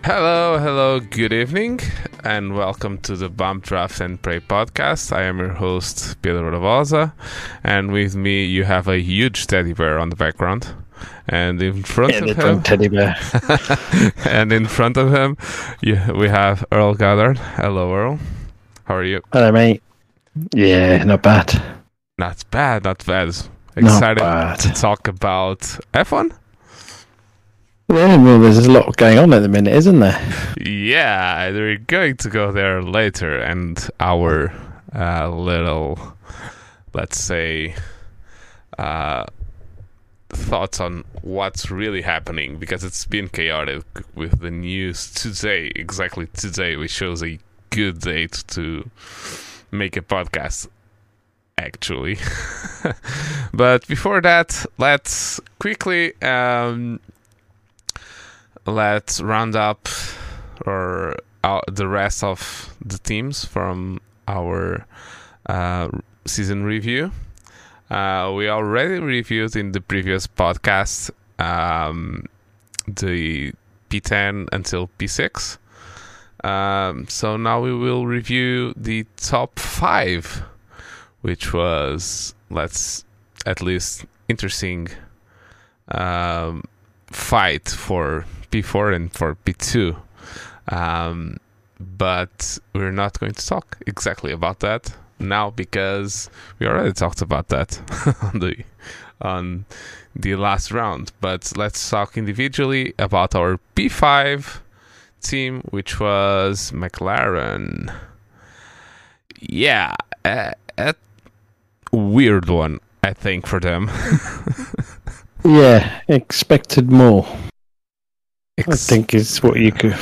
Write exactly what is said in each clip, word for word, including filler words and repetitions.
Hello, hello, good evening, and welcome to the Bump Draft and Pray podcast. I am your host, Pedro Ravosa, and with me you have a huge teddy bear on the background. And in front yeah, of him, teddy bear. and in front of him, you, we have Earl Goddard. Hello, Earl. How are you? Hello, mate. Yeah, not bad. Not bad, not bad. Not Excited bad. to talk about F one? Yeah, well, there's a lot going on at the minute, isn't there? Yeah, we're going to go there later, and our uh, little, let's say, uh, thoughts on what's really happening, because it's been chaotic with the news today. Exactly today, we chose a good date to make a podcast, actually. But before that, let's quickly um, let's round up or uh, the rest of the teams from our uh, season review. Uh, we already reviewed in the previous podcast um, the P ten until P six. Um, so now we will review the top five, which was, let's at least interesting um, fight for P four and for P two. Um, but we're not going to talk exactly about that now, because we already talked about that on the on the last round. But let's talk individually about our P five team, which was McLaren. Yeah, a, a weird one, I think, for them. Yeah, expected more. Ex- I think is what you could.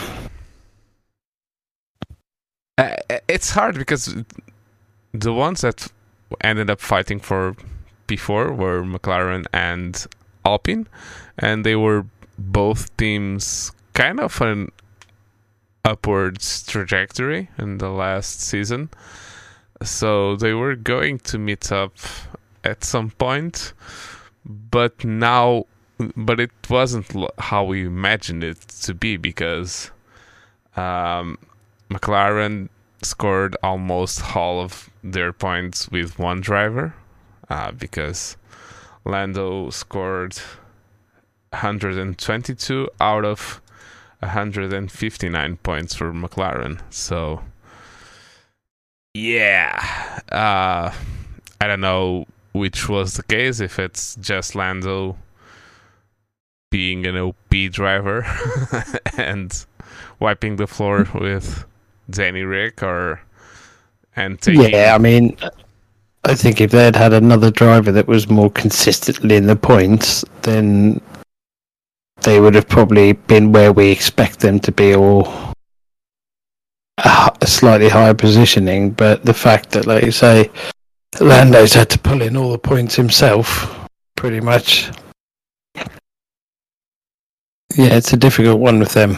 Uh, it's hard because the ones that ended up fighting for P four were McLaren and Alpine, and they were both teams kind of an upwards trajectory in the last season. So they were going to meet up at some point, but now, but it wasn't how we imagined it to be, because um, McLaren scored almost all of their points with one driver, uh, because Lando scored one hundred twenty-two out of one hundred fifty-nine points for McLaren. So yeah, uh, I don't know which was the case, if it's just Lando being an O P driver and wiping the floor with Danny Rick, or and taking... Yeah, I mean, I think if they had had another driver that was more consistently in the points, then they would have probably been where we expect them to be, or a slightly higher positioning. But the fact that, like you say, Lando's had to pull in all the points himself, pretty much. Yeah, it's a difficult one with them.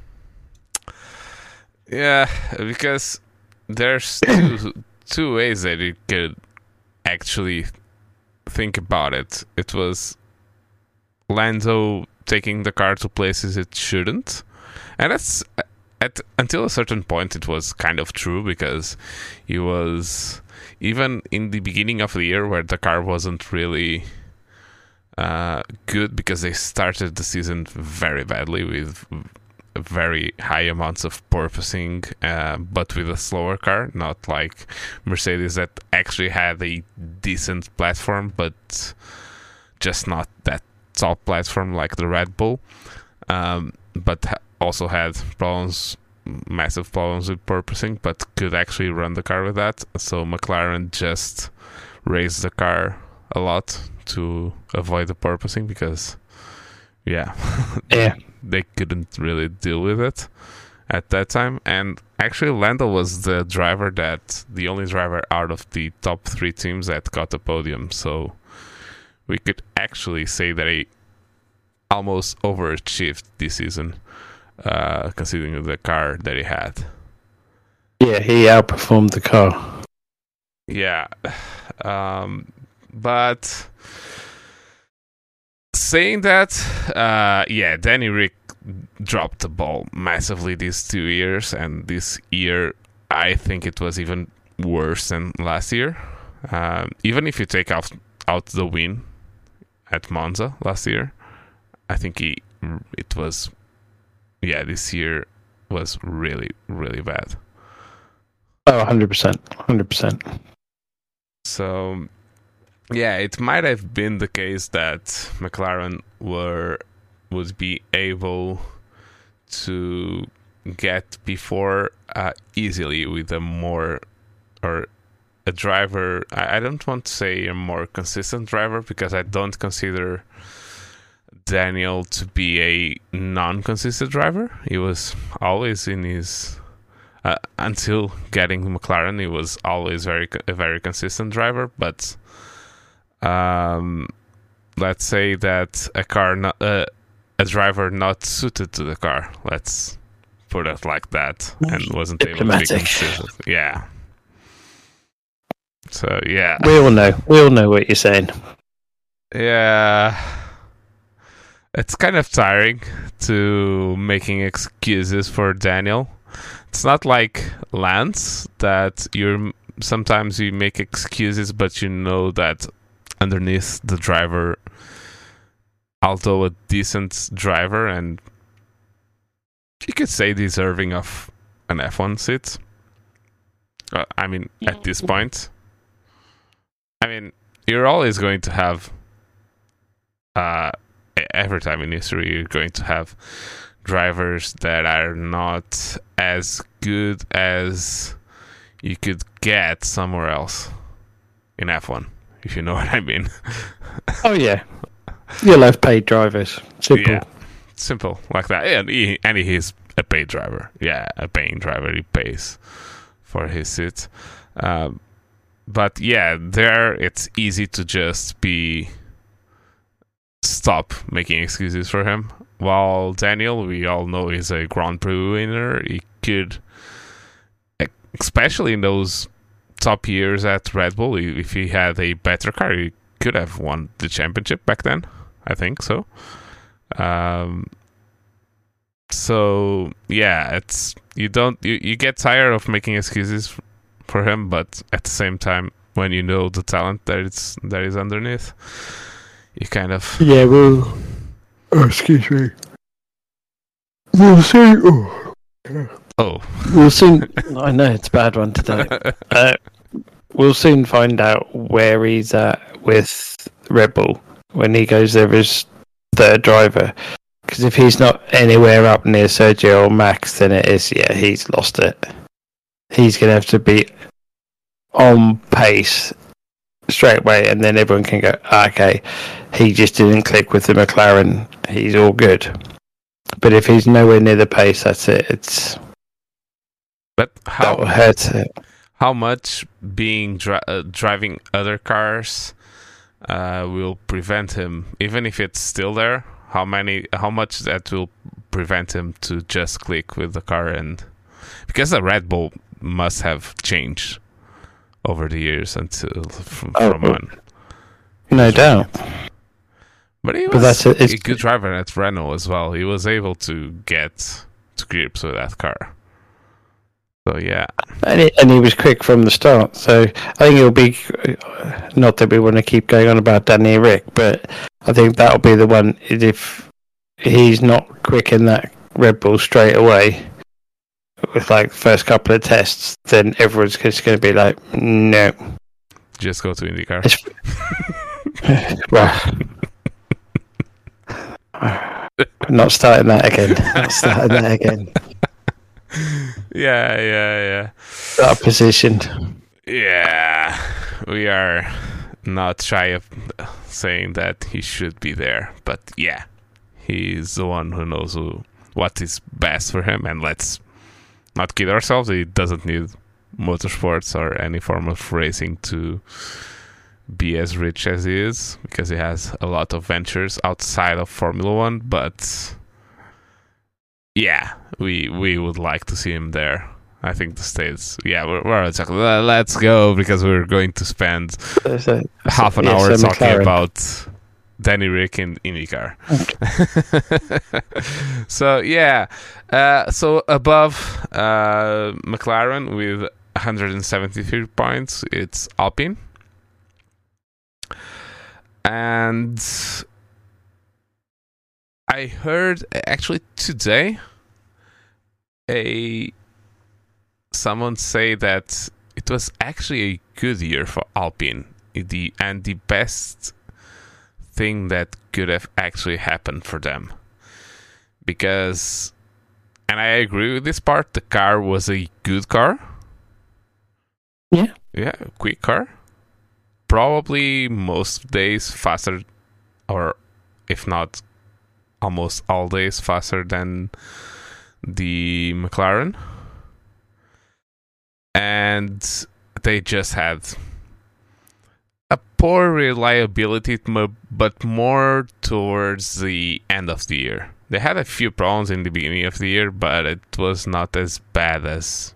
Yeah, because there's two, two ways that you could actually think about it. It was Lando taking the car to places it shouldn't, and that's at until a certain point it was kind of true, because he was, even in the beginning of the year where the car wasn't really uh, good, because they started the season very badly with very high amounts of porpoising, uh, but with a slower car, not like Mercedes that actually had a decent platform, but just not that top platform like the Red Bull, um, but ha- also had problems, massive problems with porpoising, but could actually run the car with that. So McLaren just raised the car a lot to avoid the porpoising, because yeah, yeah, they couldn't really deal with it at that time. And actually Lando was the driver that the only driver out of the top three teams that got the podium, so we could actually say that he almost overachieved this season, uh, considering the car that he had. Yeah, he outperformed the car. Yeah, um, but saying that, uh, yeah, Danny Rick dropped the ball massively these two years, and this year I think it was even worse than last year. Um, even if you take out out the win at Monza last year, I think he it was yeah this year was really really bad. Oh, one hundred percent, one hundred percent. So yeah, it might have been the case that McLaren were would be able to get before uh, easily with a more or a driver. I, I don't want to say a more consistent driver, because I don't consider Daniel to be a non-consistent driver. He was always in his uh, until getting McLaren, he was always very a very consistent driver. But um, let's say that a car not, uh, a driver not suited to the car, let's put it like that, and wasn't able to be consistent. Yeah. So yeah, we all know. We all know what you're saying. Yeah, it's kind of tiring to making excuses for Daniel. It's not like Lance that you're sometimes you make excuses, but you know that underneath the driver, although a decent driver and you could say deserving of an F one seat. Uh, I mean, at this point, I mean, you're always going to have, uh, every time in history, you're going to have drivers that are not as good as you could get somewhere else in F one, if you know what I mean. Oh, yeah. You'll have paid drivers. Simple. Yeah, simple like that. And he, and he's a paid driver. Yeah, a paying driver. He pays for his seat. Um, but yeah, there it's easy to just be stop making excuses for him. While Daniel, we all know, is a Grand Prix winner. He could, especially in those top years at Red Bull, if he had a better car, he could have won the championship back then. I think so. Um, so yeah, it's you don't you, you get tired of making excuses for him, but at the same time, when you know the talent that it's that is underneath, you kind of yeah. Well, oh, excuse me. We'll see. Oh, oh. we'll soon. I know it's a bad one today. uh, we'll soon find out where he's at with Red Bull when he goes there as third driver. Because if he's not anywhere up near Sergio or Max, then it is, yeah, he's lost it. He's going to have to be on pace straight away, and then everyone can go, okay, he just didn't click with the McLaren, he's all good. But if he's nowhere near the pace, that's it. It's but how that will hurt it. How much being dri- uh, driving other cars uh, will prevent him, even if it's still there? How many? How much that will prevent him to just click with the car? And because the Red Bull must have changed over the years until from, oh, from one. No doubt. But he was but that's a, a good driver at Renault as well. He was able to get to grips with that car. So yeah, and he, and he was quick from the start. So I think it'll be, not that we want to keep going on about Danny Rick, but I think that'll be the one. If he's not quick in that Red Bull straight away with like the first couple of tests, then everyone's just going to be like, no, just go to IndyCar. Well, not starting that again. Not starting that again. Yeah, yeah, yeah. That position. Yeah, we are not shy of saying that he should be there, but yeah, he's the one who knows who, what is best for him, and let's not kid ourselves. He doesn't need motorsports or any form of racing to be as rich as he is, because he has a lot of ventures outside of Formula One, but yeah, we we would like to see him there. I think the States, yeah, we're, we're exactly, let's go, because we're going to spend So, half an yeah, hour so talking McLaren. about Danny Rick in IndyCar. So yeah, uh, so above uh, McLaren with one hundred seventy-three points, it's Alpine, and I heard actually today a someone say that it was actually a good year for Alpine, the and the best thing that could have actually happened for them, because, and I agree with this part, the car was a good car. Yeah, yeah, quick car, probably most days faster, or if not almost all days faster than the McLaren, and they just had a poor reliability, but more towards the end of the year. They had a few problems in the beginning of the year, but it was not as bad as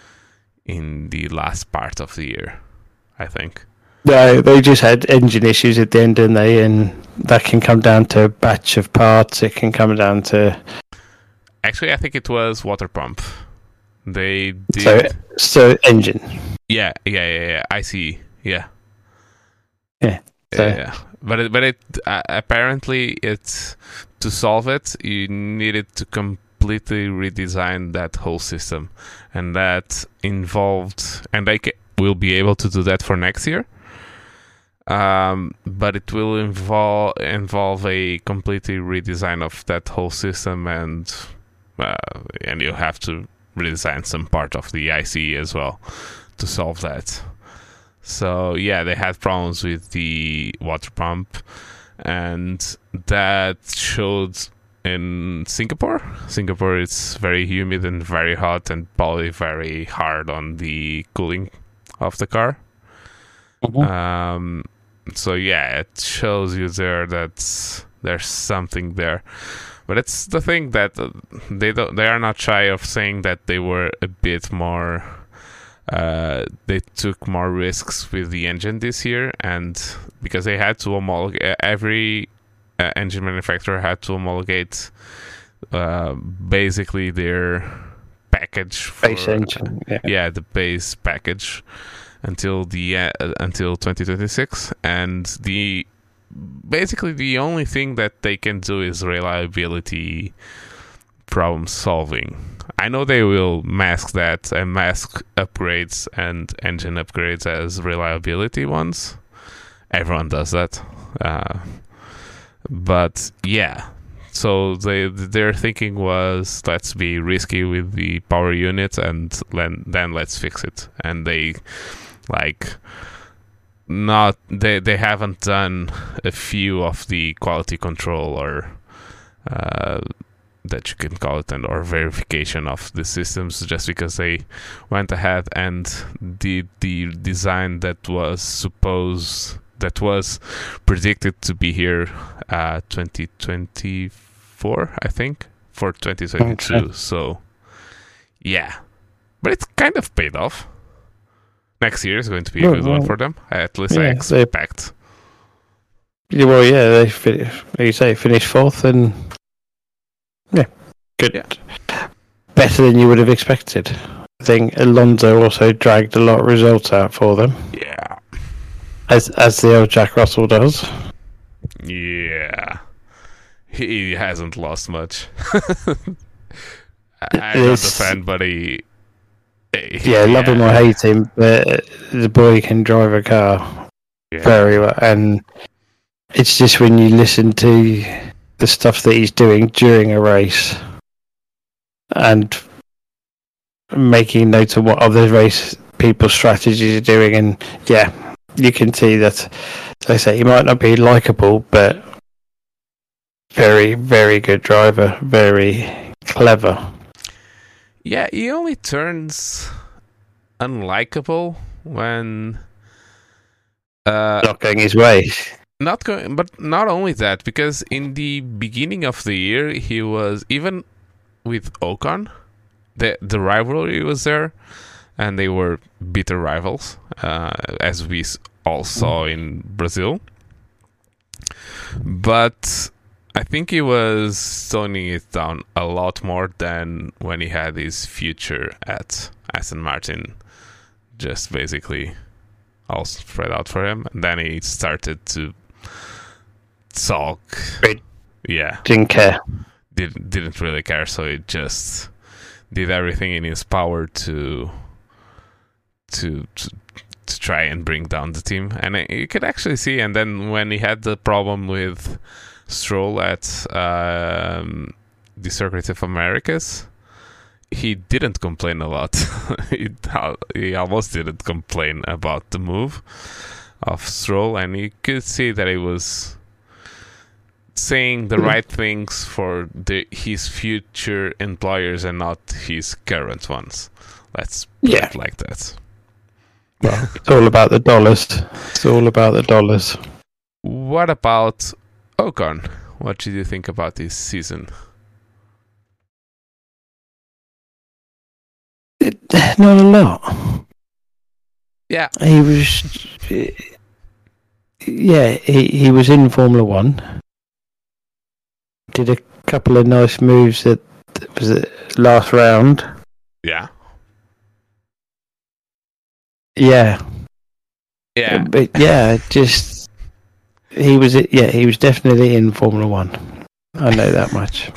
in the last part of the year, I think. No, they just had engine issues at the end, didn't they? And that can come down to a batch of parts. It can come down to... Actually, I think it was water pump. They did... So, so engine. Yeah, yeah, yeah, yeah. I see. Yeah. Yeah. So. Yeah, yeah. But it, but it uh, apparently it's to solve it, you needed to completely redesign that whole system, and that involved, and they ca- will be able to do that for next year. Um, but it will involve involve a completely redesign of that whole system, and uh, and you have to redesign some part of the I C E as well to solve that. So yeah, they had problems with the water pump, and that showed in Singapore. Singapore is very humid and very hot, and probably very hard on the cooling of the car. Mm-hmm. Um, so yeah, it shows you there that there's something there. But it's the thing that uh, they don't, they are not shy of saying that they were a bit more. Uh, they took more risks with the engine this year, and because they had to homologate, every uh, engine manufacturer had to homologate uh, basically their package for, Base engine. Yeah. yeah, the base package until the uh, until twenty twenty-six, and the basically the only thing that they can do is reliability problem solving. I know they will mask that and mask upgrades and engine upgrades as reliability ones. Everyone does that. Uh, but yeah, so they their thinking was, let's be risky with the power unit, and then then let's fix it. And they like not they they haven't done a few of the quality control or uh, that you can call it, and or verification of the systems, just because they went ahead and did the design that was supposed that was predicted to be here uh twenty twenty-four, I think, for twenty twenty-two. Okay. So yeah, but it's kind of paid off. Next year is going to be a well, good well, one for them, at least yeah, I expect. They, well yeah they fin- like you say finished fourth, and yeah, good. Yeah. Better than you would have expected. I think Alonso also dragged a lot of results out for them. Yeah. As as the old Jack Russell does. Yeah. He hasn't lost much. I'm not a fan, but he... he yeah, love him or hate him, but the boy can drive a car yeah. very well. And it's just when you listen to the stuff that he's doing during a race and making notes of what other race people's strategies are doing, and yeah, you can see that, as I say, he might not be likeable, but very, very good driver, very clever. Yeah, he only turns unlikable when uh, not going his way. Not going, but not only that, because in the beginning of the year, he was, even with Ocon, the the rivalry was there, and they were bitter rivals, uh, as we all saw in Brazil. But I think he was toning it down a lot more than when he had his future at Aston Martin, just basically all spread out for him. And then he started to talk. Right. Yeah. Didn't care. Didn't, didn't really care, so he just did everything in his power to to to, to try and bring down the team. And you could actually see, and then when he had the problem with Stroll at um, the Circuit of Americas, he didn't complain a lot. he, he almost didn't complain about the move of Stroll, and you could see that he was saying the right things for the, his future employers and not his current ones. Let's put Yeah. it like that. Well, it's all about the dollars. It's all about the dollars. What about Ocon? What did you think about this season? It, not a lot. Yeah. He was. Yeah, he, he was in Formula One. Did a couple of nice moves at was it last round. Yeah. Yeah. Yeah. But yeah, just he was yeah, he was definitely in Formula One. I know that much.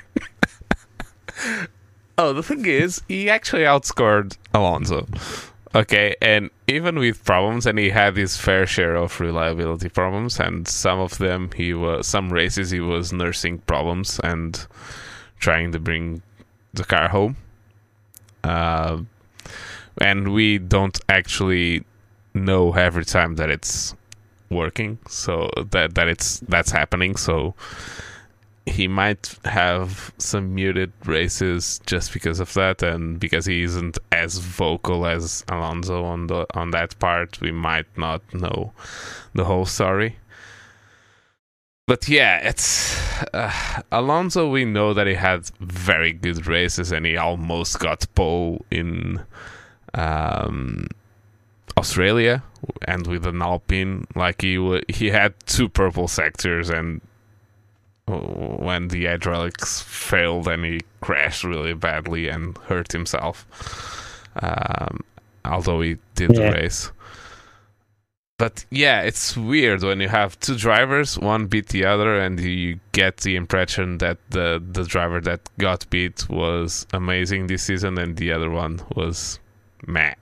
Oh, the thing is, he actually outscored Alonso. Okay, and even with problems, and he had his fair share of reliability problems, and some of them he was some races he was nursing problems and trying to bring the car home. Uh, and we don't actually know every time that it's working, so that that it's that's happening. So he might have some muted races just because of that, and because he isn't as vocal as Alonso on the on that part, we might not know the whole story. But yeah, it's uh, Alonso. We know that he had very good races, and he almost got pole in um, Australia, and with an Alpine, like he w- he had two purple sectors, and when the hydraulics failed and he crashed really badly and hurt himself, um, although he did Yeah. the race. But yeah, it's weird when you have two drivers, one beat the other, and you get the impression that the, the driver that got beat was amazing this season and the other one was meh.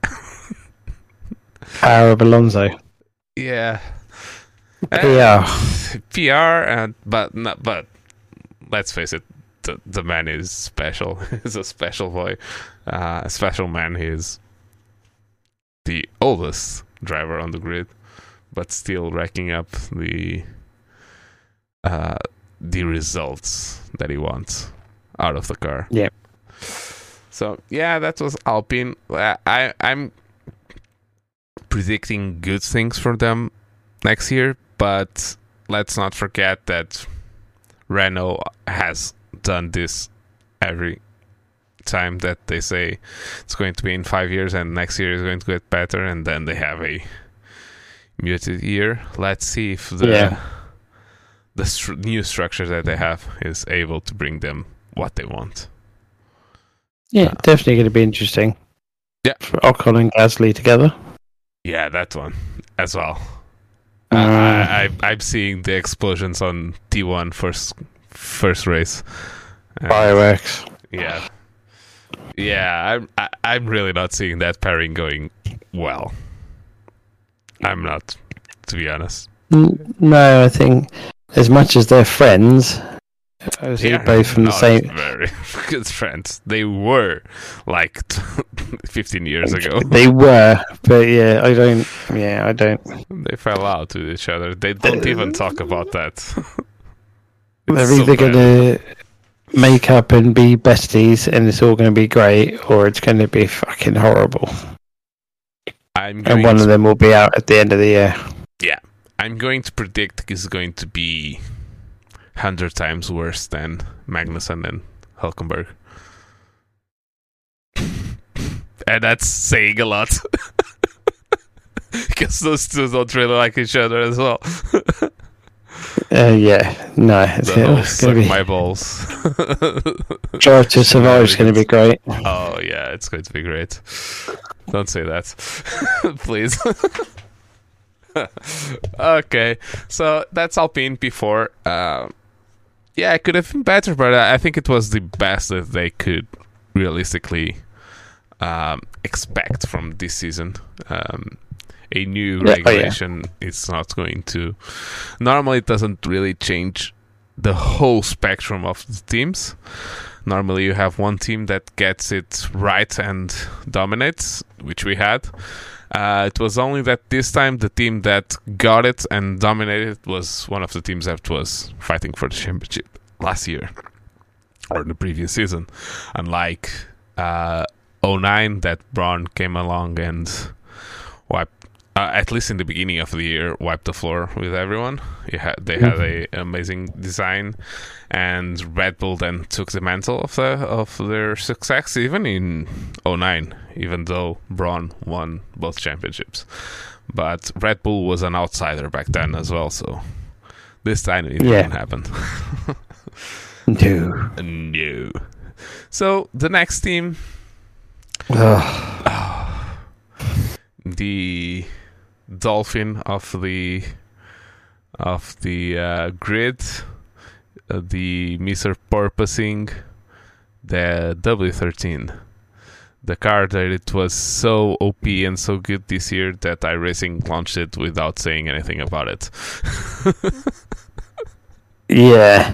Power of Alonso. Yeah. P R. P R, and but not, but let's face it, the, the man is special. He's a special boy, uh, a special man. He's the oldest driver on the grid, but still racking up the uh, the results that he wants out of the car. Yeah. So yeah, that was Alpine. I, I I'm predicting good things for them next year. But let's not forget that Renault has done this every time that they say it's going to be in five years and next year is going to get better, and then they have a muted year. Let's see if the Yeah. the stru- new structure that they have is able to bring them what they want. Yeah, Uh, definitely going to be interesting. Yeah. For Ocon and Gasly together. Yeah, that one as well. Uh, I, I, I'm seeing the explosions on T one first first race. Uh, Fireworks. Yeah, yeah. I'm I, I'm really not seeing that pairing going well. I'm not, to be honest. N- No, I think as much as they're friends, as they're both from the not same. very good friends. They were like fifteen years ago. They were, but yeah, I don't. Yeah, I don't. They fell out with each other. They don't even talk about that. They're It's so either bad. going to make up and be besties, and it's all going to be great, or it's going to be fucking horrible. I'm going And one to of them will be out at the end of the year. I'm going to predict it's going to be hundred times worse than Magnussen and Hulkenberg. And that's saying a lot. Because those two don't really like each other as well. Uh, yeah, no, it's, The whole it's suck going to be my balls. Drive to Survive is going to be great. Oh yeah, it's going to be great. Don't say that, please. Okay, so that's Alpine before. Uh, yeah, it could have been better, but I think it was the best that they could realistically um, expect from this season. Um, a new Yeah, oh, yeah. regulation is not going to. Normally, it doesn't really change the whole spectrum of the teams. Normally, you have one team that gets it right and dominates, which we had. Uh, it was only that this time the team that got it and dominated was one of the teams that was fighting for the championship last year or the previous season. Unlike uh, oh nine, that Braun came along and wiped, uh, at least in the beginning of the year, wiped the floor with everyone. You had, they had a amazing design, and Red Bull then took the mantle of the of their success, even in oh nine, even though Braun won both championships. But Red Bull was an outsider back then as well, so this time it Yeah. didn't happen. No. No. So the next team, Oh, the Dolphin of the of the uh, grid, uh, the Mister Porpoising, the W thirteen, the car that it was so O P and so good this year that iRacing launched it without saying anything about it. yeah.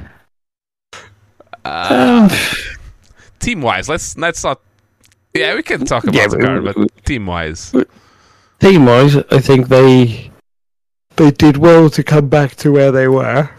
Uh, Um, team wise, let's let's not. Yeah, we can talk about Yeah, the we- car, but we- team wise, team wise, I think they they did well to come back to where they were.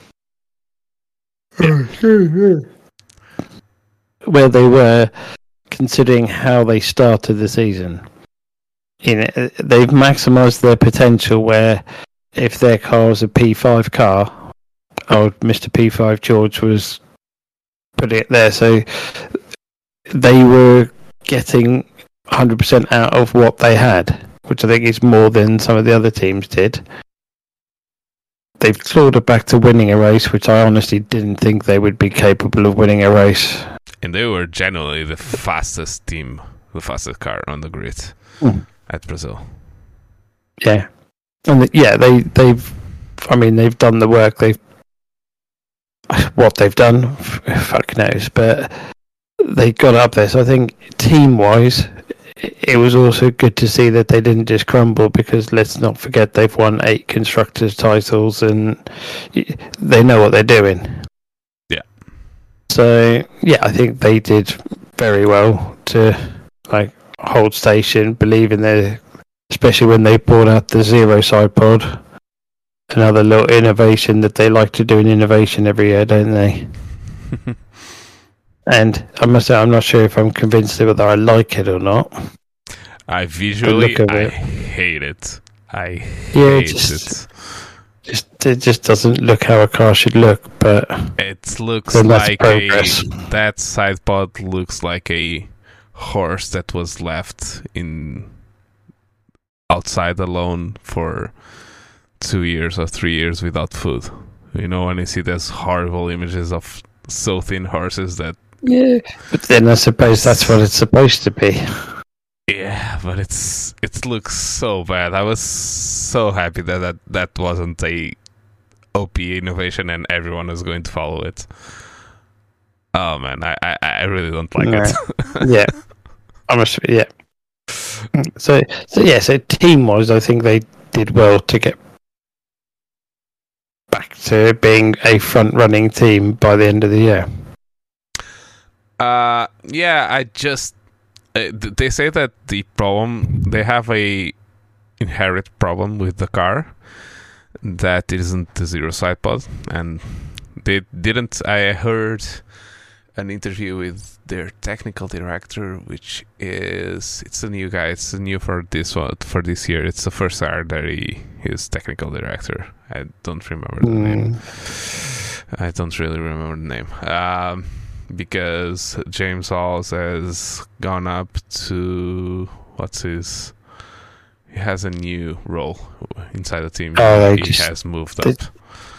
Where they were, considering how they started the season. You know, they've maximised their potential. Where if their car was a P five car, old Mister P five George was putting it there, so they were getting one hundred percent out of what they had, which I think is more than some of the other teams did. They've clawed it back to winning a race, which I honestly didn't think they would be capable of winning a race. and they were generally the fastest team, the fastest car on the grid Mm. at Brazil. Yeah, and the, yeah, they they've, I mean, they've done the work. They've what they've done, f- fuck knows, but they got up there. So I think team wise, it was also good to see that they didn't just crumble, because let's not forget they've won eight constructors titles and y- they know what they're doing. Yeah. So yeah, I think they did very well to like hold station, believe in their, especially when they brought out the zero side pod. Another little innovation that they like to do in innovation every year, don't they? And I must say, I'm not sure if I'm convinced whether I like it or not. I visually, look of I it. hate it. I Yeah, hate just- it. Just it just doesn't look how a car should look. But It looks then that's like progress. a that side pod looks like a horse that was left in outside alone for two years or three years without food. You know, when you see those horrible images of so thin horses that yeah, but then I suppose that's what it's supposed to be. yeah, but it's it looks so bad. I was so happy that that, that wasn't a O P innovation and everyone was going to follow it. Oh man, I I, I really don't like No. it. Yeah, I must. Yeah. So so yeah. So team wise, I think they did well to get back to being a front running team by the end of the year. Uh, yeah, I just uh, th- they say that the problem they have a inherent problem with the car that isn't the zero side pod, and they didn't. I heard an interview with their technical director, which is it's a new guy. It's new for this one for this year. It's the first year that he is technical director. I don't remember the name. Mm, I don't really remember the name. Um, because James Halls has gone up to what's his? He has a new role inside the team. Oh, they he just- has moved they- up.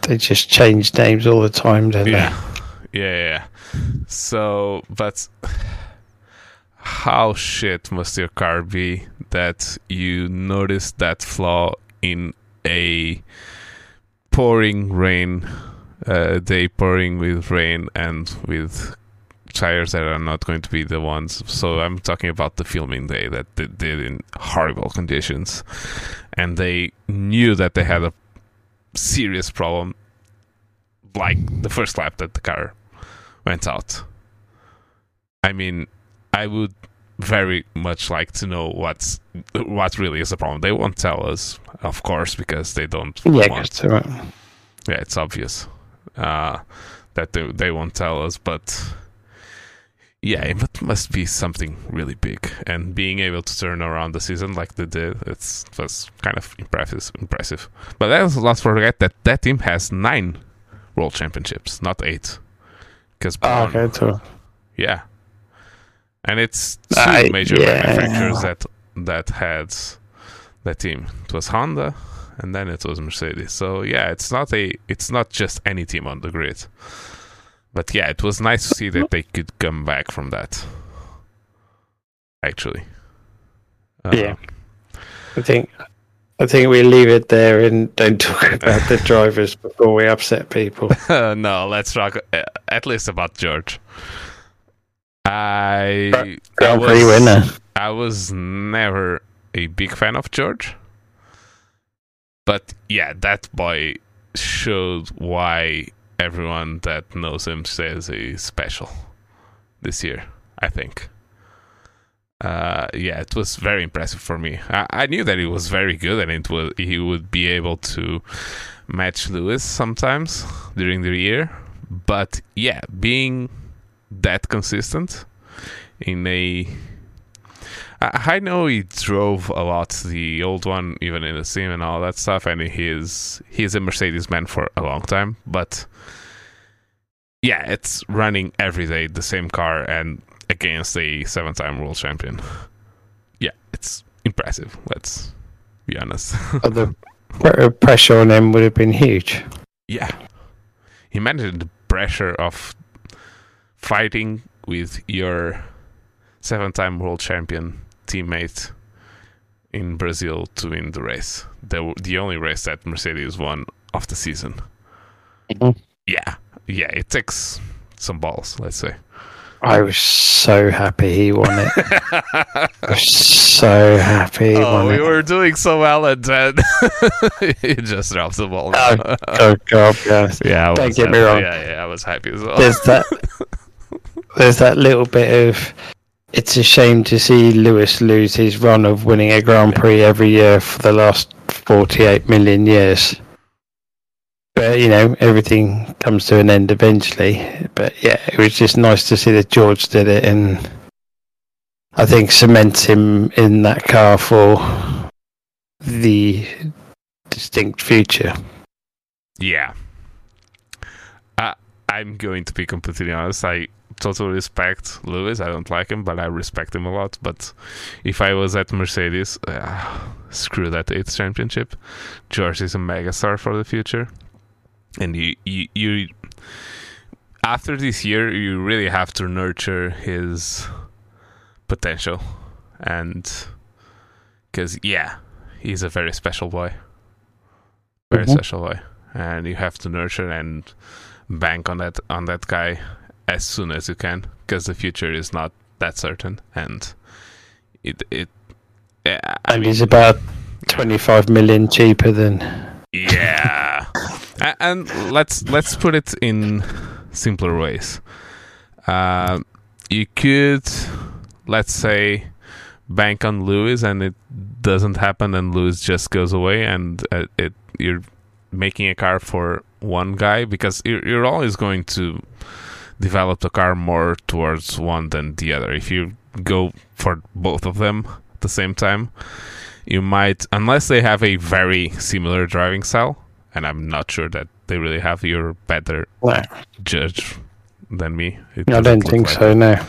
they just change names all the time, don't yeah. they? Yeah, yeah, yeah. So, but how shit must your car be that you notice that flaw in a pouring rain, uh, day pouring with rain and with tires that are not going to be the ones. So I'm talking about the filming day that they did in horrible conditions, and they knew that they had a serious problem, like the first lap that the car went out. I mean, I would very much like to know what's what really is the problem. They won't tell us, of course, because they don't yeah, want. Right. Yeah, it's obvious uh, that they they won't tell us, but yeah, it must be something really big. And being able to turn around the season like they did, it's it was kind of impressive. Impressive. But let's not forget that that team has nine world championships, not eight. Because oh, okay, so. yeah. And it's two I, major yeah. manufacturers that that had that team. It was Honda, and then it was Mercedes. So yeah, it's not a it's not just any team on the grid. But yeah, it was nice to see that they could come back from that. Actually, uh, yeah, I think I think we leave it there and don't talk about the drivers before we upset people. uh, no, let's talk uh, at least about George. I, Grand I Prix was, winner. I was never a big fan of George, but yeah, that boy showed why everyone that knows him says he's special this year, I think. Uh, yeah, it was very impressive for me. I, I knew that he was very good and it was he would be able to match Lewis sometimes during the year, but yeah, being that consistent in a I, I know he drove a lot the old one even in the sim and all that stuff, and he's he's a Mercedes man for a long time, but yeah, it's running every day the same car and against a seven-time world champion. Yeah, it's impressive, let's be honest. But the pressure on him would have been huge. Yeah, he managed the pressure of fighting with your seven-time world champion teammate in Brazil to win the race. The the only race that Mercedes won of the season. Mm-hmm. Yeah, yeah, it takes some balls, let's say. I was so happy he won it. I was so happy he oh, won we it. were doing so well, and then he just dropped the ball. Oh, oh God, yes. Yeah, I Don't was get happy. me wrong. Yeah, yeah, I was happy as well. There's that. There's that little bit of. It's a shame to see Lewis lose his run of winning a Grand Prix every year for the last forty-eight million years. But, you know, everything comes to an end eventually. But, yeah, it was just nice to see that George did it and I think cements him in that car for the distinct future. Yeah. Uh, I'm going to be completely honest. I totally respect Lewis. I don't like him, but I respect him a lot. But if I was at Mercedes, uh, screw that eighth championship. George is a megastar for the future. And you, you, you, after this year, you really have to nurture his potential. And because, yeah, he's a very special boy. Very mm-hmm. special boy. And you have to nurture and bank on that on that guy as soon as you can, because the future is not that certain. And it, it I and mean, he's about twenty-five million cheaper than. Yeah. And let's let's put it in simpler ways. Uh, you could, let's say, bank on Lewis, and it doesn't happen, and Lewis just goes away, and uh, it you're making a car for one guy, because you're, you're always going to develop the car more towards one than the other. If you go for both of them at the same time, you might, unless they have a very similar driving style. And I'm not sure that they really have. You're better no. judge than me. It I don't think like so, it. no.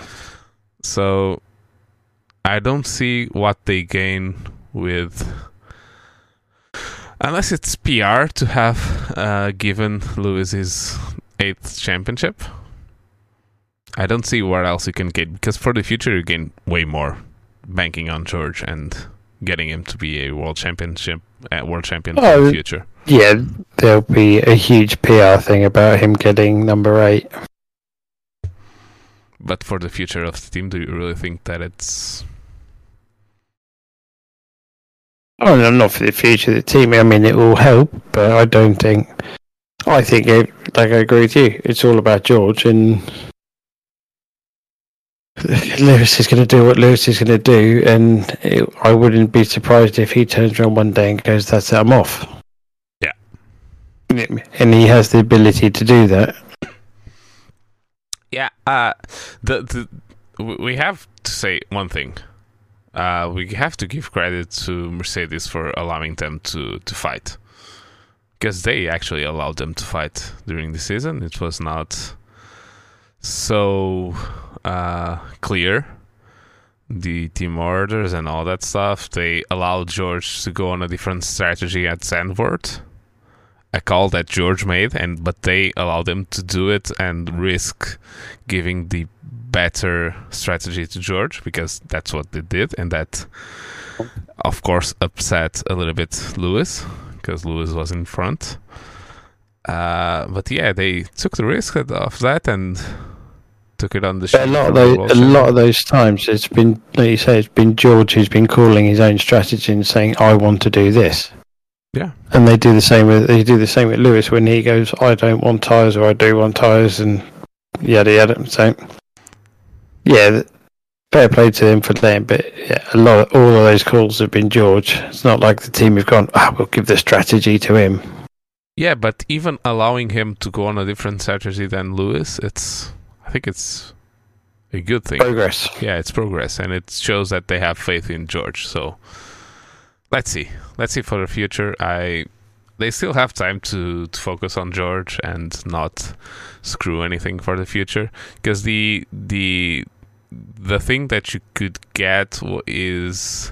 So I don't see what they gain with Unless it's P R to have uh, given Lewis his eighth championship. I don't see where else you can get, because for the future you gain way more banking on George and getting him to be a world championship, uh, world champion oh, for the future. Yeah, there'll be a huge P R thing about him getting number eight. But for the future of the team, do you really think that it's... Oh, no, not for the future of the team. I mean, it will help, but I don't think... I think, it, like I agree with you, it's all about George, and Lewis is going to do what Lewis is going to do, and it, I wouldn't be surprised if he turns around one day and goes, that's it, I'm off. Yeah. And he has the ability to do that. Yeah, uh, the, the we have to say one thing. Uh, we have to give credit to Mercedes for allowing them to, to fight. Because they actually allowed them to fight during the season. It was not so uh, clear, the team orders and all that stuff. They allowed George to go on a different strategy at Zandvoort, a call that George made, and but they allowed him to do it and risk giving the better strategy to George, because that's what they did, and that of course upset a little bit Lewis, because Lewis was in front. Uh, but yeah, they took the risk of that and took it on the show. A lot of those, a lot of those times, it's been, like you say, it's been George who's been calling his own strategy and saying, "I want to do this." Yeah, and they do the same with they do the same with Lewis when he goes, "I don't want tyres," or "I do want tyres," and yada yada. So, yeah, fair play to him for that. But yeah, a lot, of, all of those calls have been George. It's not like the team have gone, "Ah, oh, we'll give the strategy to him." Yeah, but even allowing him to go on a different strategy than Lewis, it's I think it's a good thing. Progress. Yeah, it's progress, and it shows that they have faith in George. So. Let's see. Let's see for the future. I, they still have time to, to focus on George and not screw anything for the future. Because the the the thing that you could get is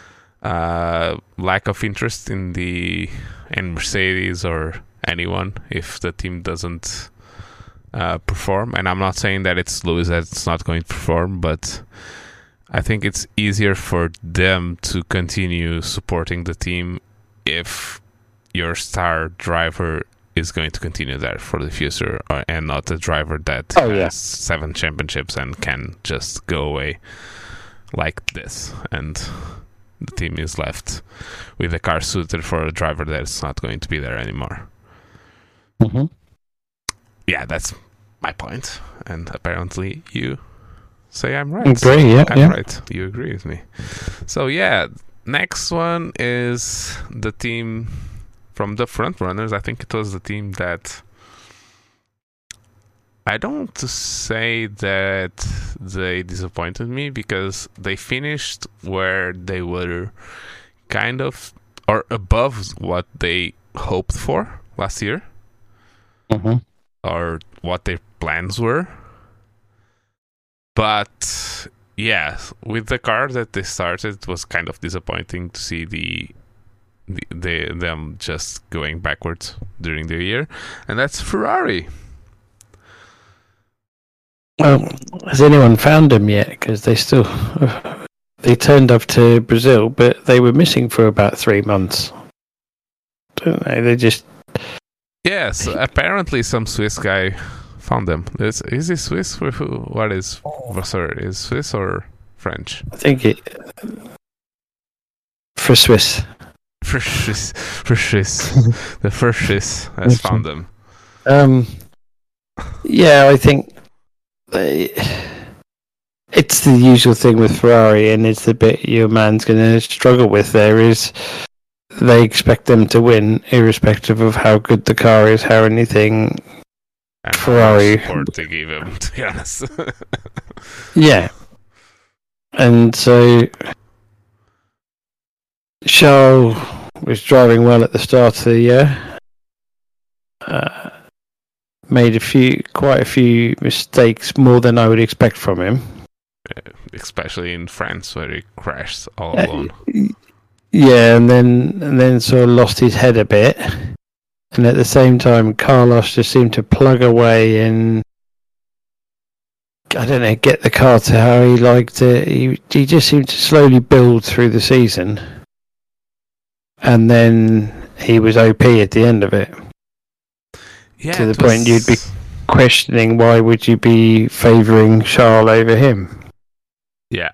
uh, lack of interest in the in Mercedes or anyone if the team doesn't uh, perform. And I'm not saying that it's Lewis that's not going to perform, but I think it's easier for them to continue supporting the team if your star driver is going to continue there for the future, or, and not a driver that oh, has yeah. seven championships and can just go away like this, and the team is left with a car suited for a driver that's not going to be there anymore. Mm-hmm. Yeah, that's my point, and apparently you say I'm right. Agree, yeah, I'm yeah. right. You agree with me. So yeah, next one is the team from the front runners. I think it was the team that I don't want to say that they disappointed me, because they finished where they were kind of or above what they hoped for last year, mm-hmm. or what their plans were. But yeah, with the car that they started, it was kind of disappointing to see the, the, the them just going backwards during the year, and that's Ferrari. Well, has anyone found them yet? Because they still they turned up to Brazil, but they were missing for about three months. Don't they? They just yes. Apparently, some Swiss guy found them. Is, is he Swiss? Who, what is Vasseur? Is Swiss or French? I think it for Swiss. For Swiss, for Swiss, the first Swiss has found them. Um, yeah, I think they, it's the usual thing with Ferrari, and it's the bit your man's going to struggle with. There is they expect them to win, irrespective of how good the car is, how anything. And Ferrari support they gave him, to be honest. Yeah, and so Charles was driving well at the start of the year. Uh, made a few, quite a few mistakes, more than I would expect from him. Especially in France, where he crashed all uh, alone. Yeah, and then and then sort of lost his head a bit, and at the same time, Carlos just seemed to plug away and I don't know, get the car to how he liked it. He he just seemed to slowly build through the season, and then he was O P at the end of it. Yeah, to the it point was- you'd be questioning why would you be favouring Charles over him? Yeah.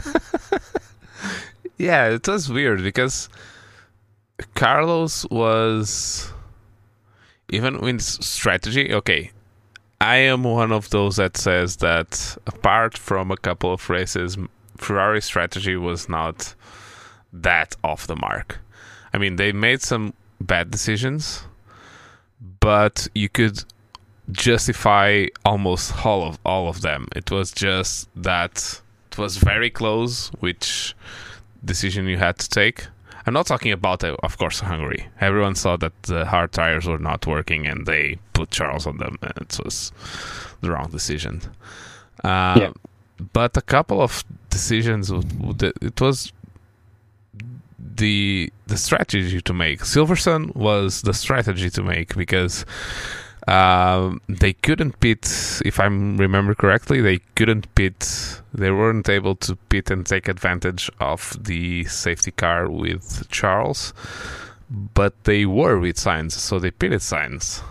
Yeah, it was weird because Carlos was even with strategy. Okay, I am one of those that says that apart from a couple of races, Ferrari strategy was not that off the mark. I mean, they made some bad decisions, but you could justify almost all of all of them. It was just that it was very close which decision you had to take. I'm not talking about, uh, of course, Hungary. Everyone saw that the hard tires were not working and they put Charles on them, and it was the wrong decision. Uh, Yeah. But a couple of decisions, would- would- it was the the strategy to make. Silverstone was the strategy to make because um, they couldn't pit, if I remember correctly, they couldn't pit, they weren't able to pit and take advantage of the safety car with Charles, but they were with Sainz, so they pitted Sainz.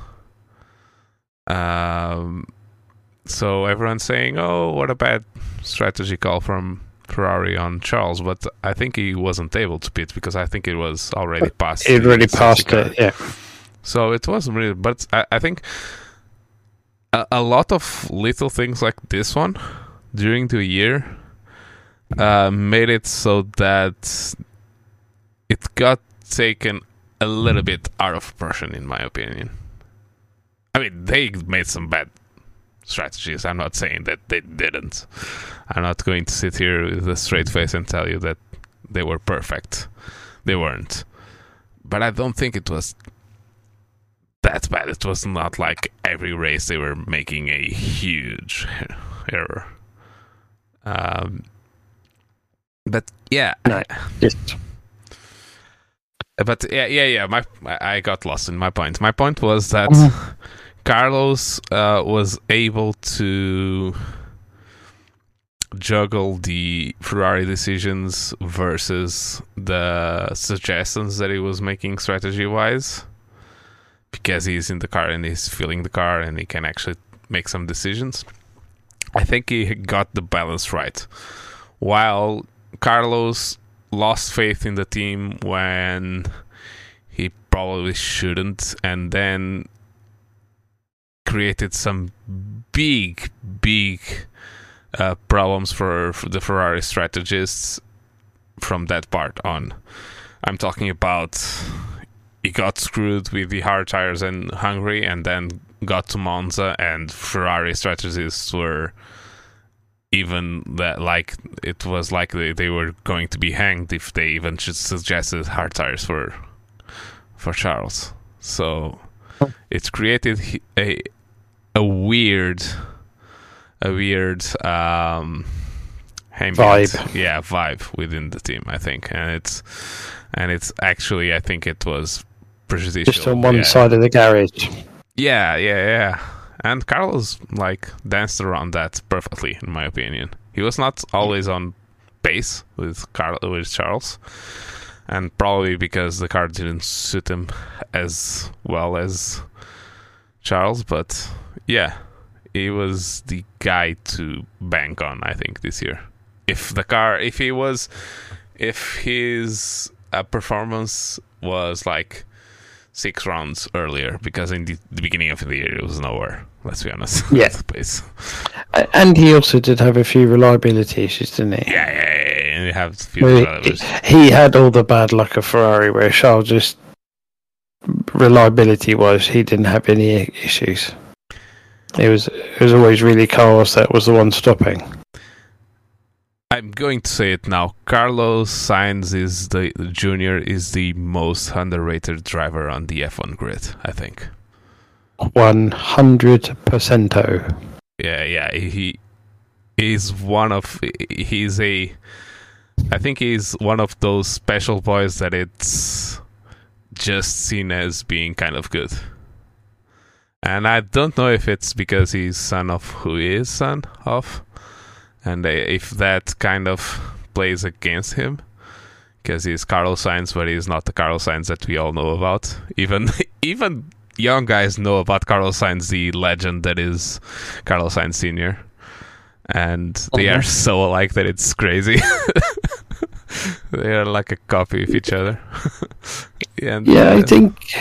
Um, so everyone's saying, oh, what a bad strategy call from Ferrari on Charles, but I think he wasn't able to pit because I think it was already past. It the really safety passed car. it, yeah. So it wasn't really, but I, I think a, a lot of little things like this one during the year uh, made it so that it got taken a little bit out of proportion, in my opinion. I mean, they made some bad strategies. I'm not saying that they didn't. I'm not going to sit here with a straight face and tell you that they were perfect. They weren't. But I don't think it was that bad. It was not like every race they were making a huge error. Um, but yeah, No, just but yeah, yeah, yeah. My I got lost in my point. My point was that Mhm. Carlos uh, was able to juggle the Ferrari decisions versus the suggestions that he was making strategy-wise, because he's in the car and he's feeling the car and he can actually make some decisions. I think he got the balance right. While Carlos lost faith in the team when he probably shouldn't, and then created some big, big uh, problems for, for the Ferrari strategists from that part on. I'm talking about he got screwed with the hard tires in Hungary and then got to Monza, and Ferrari strategists were even that like it was like they, they were going to be hanged if they even just suggested hard tires for for Charles. So it's created a a weird a weird um ambient, Vibe. yeah vibe within the team, I think, and it's and it's actually I think it was prejudicial just on one yeah. side of the garage. Yeah, yeah, yeah. And Carlos like danced around that perfectly, in my opinion. He was not always on pace with Carl with Charles, and probably because the car didn't suit him as well as Charles. But yeah, he was the guy to bank on, I think, this year. If the car, if he was, if his uh, performance was like six rounds earlier, because in the, the beginning of the year it was nowhere, let's be honest. Yeah. The pace. A- And he also did have a few reliability issues, didn't he? Yeah, yeah, yeah, yeah. And you have a few Well, drivers. he, he had all the bad luck of Ferrari, where Charles just reliability wise, he didn't have any issues. It was it was always really Carlos that was the one stopping. I'm going to say it now. Carlos Sainz is the, the junior is the most underrated driver on the F one grid, I think. One hundred percento. Yeah, yeah. He is one of he's a I think he's one of those special boys that it's just seen as being kind of good. And I don't know if it's because he's son of who he is son of, and if that kind of plays against him, because he's Carlos Sainz, but he's not the Carlos Sainz that we all know about. Even even young guys know about Carlos Sainz, the legend that is Carlos Sainz Senior, and they mm-hmm. are so alike that it's crazy. They are like a copy of each other. and, yeah, I uh, think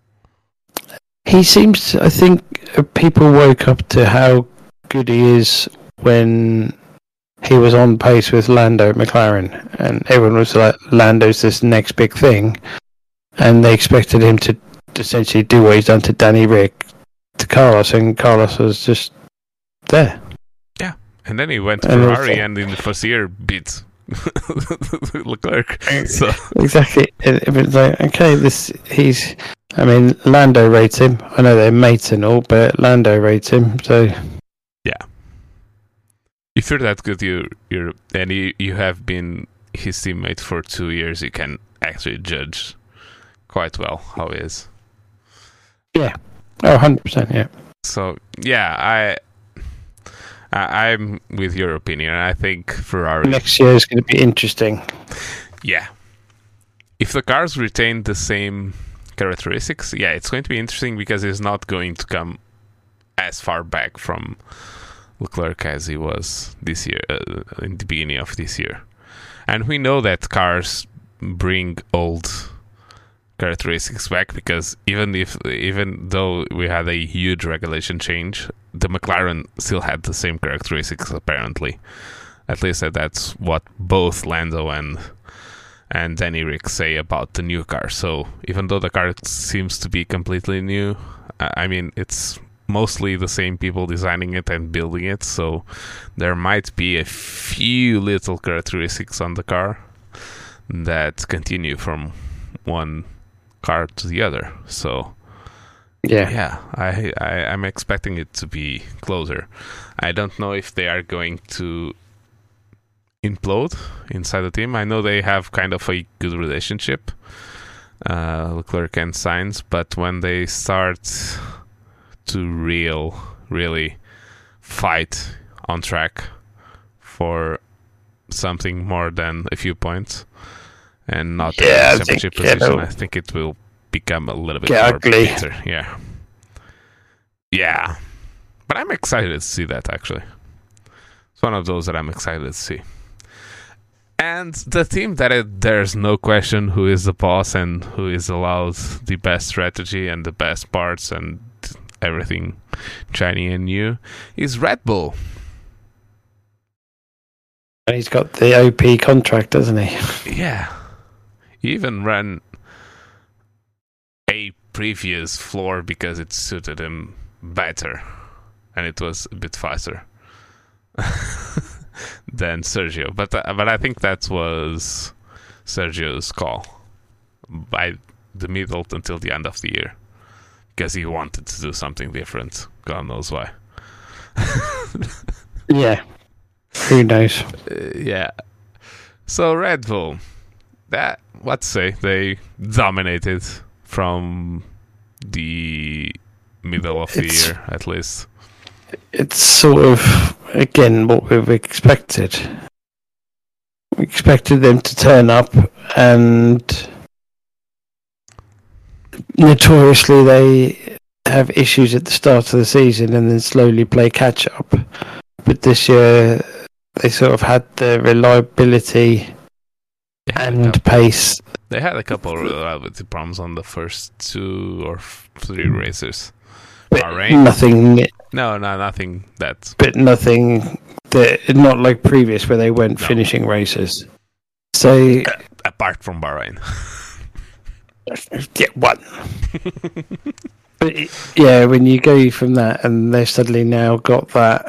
he seems. I think people woke up to how good he is when he was on pace with Lando at McLaren, and everyone was like, Lando's this next big thing, and they expected him to essentially do what he's done to Danny Rick to Carlos, and Carlos was just there. Yeah, and then he went to and Ferrari and in the first year beat Leclerc. So. Exactly. It, it was like, okay, this he's. I mean, Lando rates him. I know they're mates and all, but Lando rates him. So yeah, if you're that good, you you're and you, you have been his teammate for two years, you can actually judge quite well how he is. Yeah. Oh, one hundred percent. Yeah. So yeah, I. I, I'm with your opinion. I think Ferrari next year is going to be interesting. Yeah, if the cars retain the same characteristics, yeah, it's going to be interesting because he's not going to come as far back from Leclerc as he was this year, uh, in the beginning of this year. And we know that cars bring old characteristics back because even if even though we had a huge regulation change, the McLaren still had the same characteristics apparently. At least that's what both Lando and and Danny Rick say about the new car. So even though the car seems to be completely new, I mean, it's mostly the same people designing it and building it, so there might be a few little characteristics on the car that continue from one car to the other. So yeah, yeah, I, I I'm expecting it to be closer. I don't know if they are going to implode inside the team. I know they have kind of a good relationship, uh, Leclerc and Sainz, but when they start to real really fight on track for something more than a few points and not yeah, a championship think, position, yeah, I think it will become a little bit more ugly. Bitter. Yeah. Yeah. But I'm excited to see that, actually. It's one of those that I'm excited to see. And the team that it, there's no question who is the boss and who is allowed the best strategy and the best parts and everything shiny and new is Red Bull. And he's got the O P contract, doesn't he? Yeah. He even ran a previous floor because it suited him better and it was a bit faster than Sergio. But uh, but I think that was Sergio's call by the middle until the end of the year because he wanted to do something different. God knows why. Yeah. Who knows? Uh, yeah. So Red Bull, that let's say they dominated from the middle of the It's- year at least. It's sort of, again, what we've expected. We expected them to turn up, and notoriously they have issues at the start of the season and then slowly play catch up. But this year they sort of had the reliability Yeah, and yeah. pace. They had a couple of reliability problems on the first two or f- three races. But Bahrain? nothing, No, no, nothing that. but nothing that, not like previous where they weren't No. finishing races. So, Apart from Bahrain. yeah, one. But it- yeah, when you go from that and they've suddenly now got that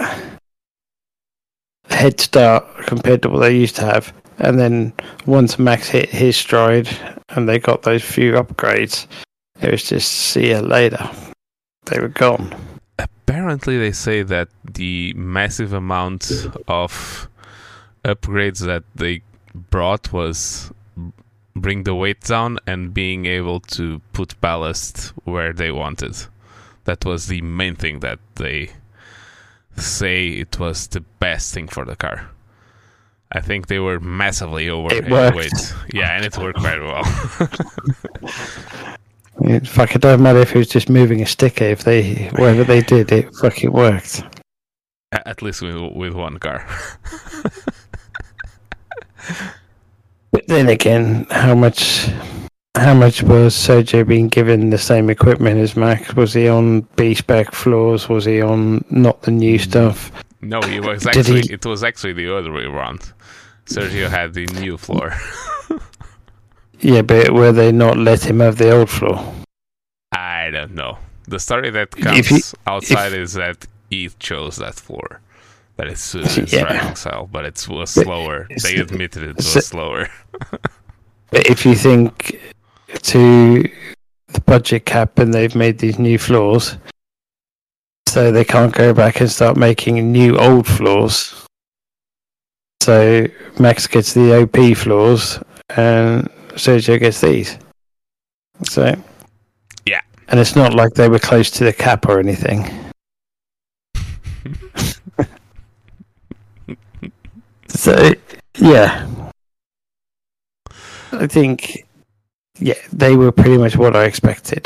head start compared to what they used to have, and then once Max hit his stride and they got those few upgrades, it was just see you later. They were gone. Apparently, they say that the massive amount of upgrades that they brought was bring the weight down and being able to put ballast where they wanted. That was the main thing that they say it was the best thing for the car. I think they were massively overweight. Yeah, and it worked very well. It fucking don't matter if it was just moving a sticker. If they, whatever they did, it fucking worked. At least with with one car. But then again, how much, how much was Sergio being given the same equipment as Max? Was he on B spec floors? Was he on not the new stuff? No, he was actually. He... It was actually the other way around. Sergio had the new floor. Yeah, but were they not let him have the old floor? I don't know. The story that comes he, outside if, is that he chose that floor. That it suited his yeah. driving style, but it was slower. They admitted it was slower. But if you think to the budget cap and they've made these new floors, so they can't go back and start making new old floors. So Max gets the O P floors and Sergio gets these. So yeah, and it's not like they were close to the cap or anything. So yeah, I think yeah they were pretty much what I expected.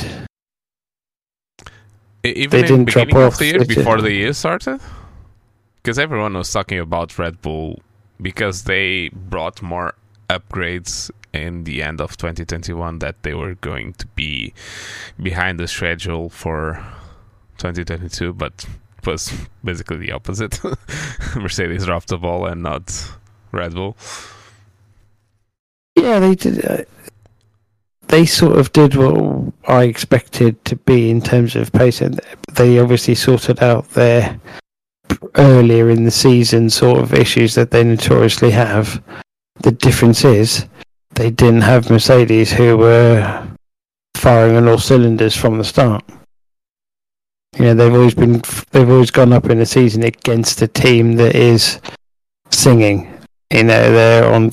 Even they in didn't the beginning drop of off the year before the year started, because everyone was talking about Red Bull because they brought more upgrades in the end of twenty twenty-one that they were going to be behind the schedule for twenty twenty-two, but it was basically the opposite. Mercedes dropped the ball and not Red Bull. Yeah, they did. Uh, they sort of did what I expected to be in terms of pace, and they obviously sorted out their earlier in the season sort of issues that they notoriously have. The difference is they didn't have Mercedes who were firing on all cylinders from the start. You know, they've always been, they've always gone up in the season against a team that is singing. You know, they're on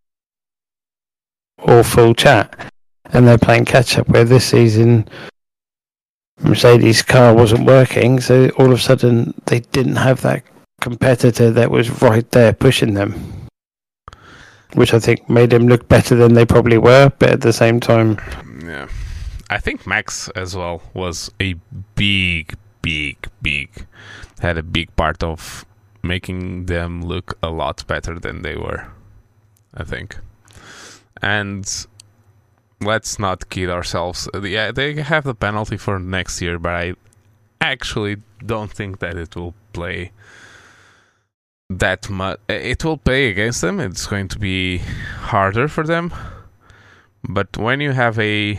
all full chat, and they're playing catch up. Where this season, Mercedes' car wasn't working, so all of a sudden they didn't have that competitor that was right there pushing them, which I think made them look better than they probably were, but at the same time... Yeah. I think Max as well was a big, big, big... had a big part of making them look a lot better than they were, I think. And let's not kid ourselves. Yeah, they have the penalty for next year, but I actually don't think that it will play that much. It will play against them. It's going to be harder for them. But when you have a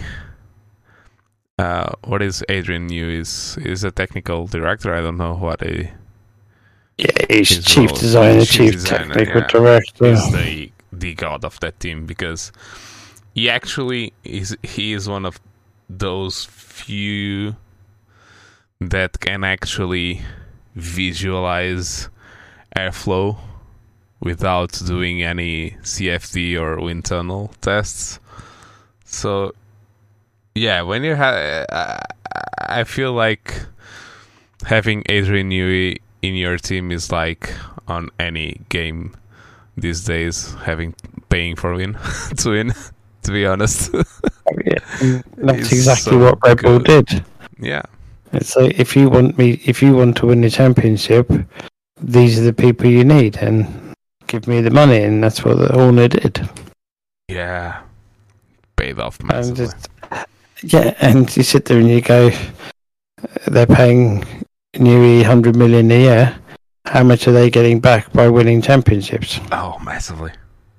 uh, what is Adrian Newey? Is is a technical director? I don't know what a yeah. He's chief role. designer, chief, chief designer, technical yeah. director. He's the the god of that team because he actually is. He is one of those few that can actually visualize airflow without doing any C F D or wind tunnel tests. So yeah, when you have, uh, I feel like having Adrian Newey in your team is like on any game these days, having paying for win to win. To be honest, yeah, that's exactly so what Red Bull good. did. Yeah, it's like if you want me, if you want to win the championship, these are the people you need, and give me the money, and that's what the Horner did. Yeah, paid off massively. And just, yeah, and you sit there and you go, they're paying Newey hundred million a year. How much are they getting back by winning championships? Oh, massively.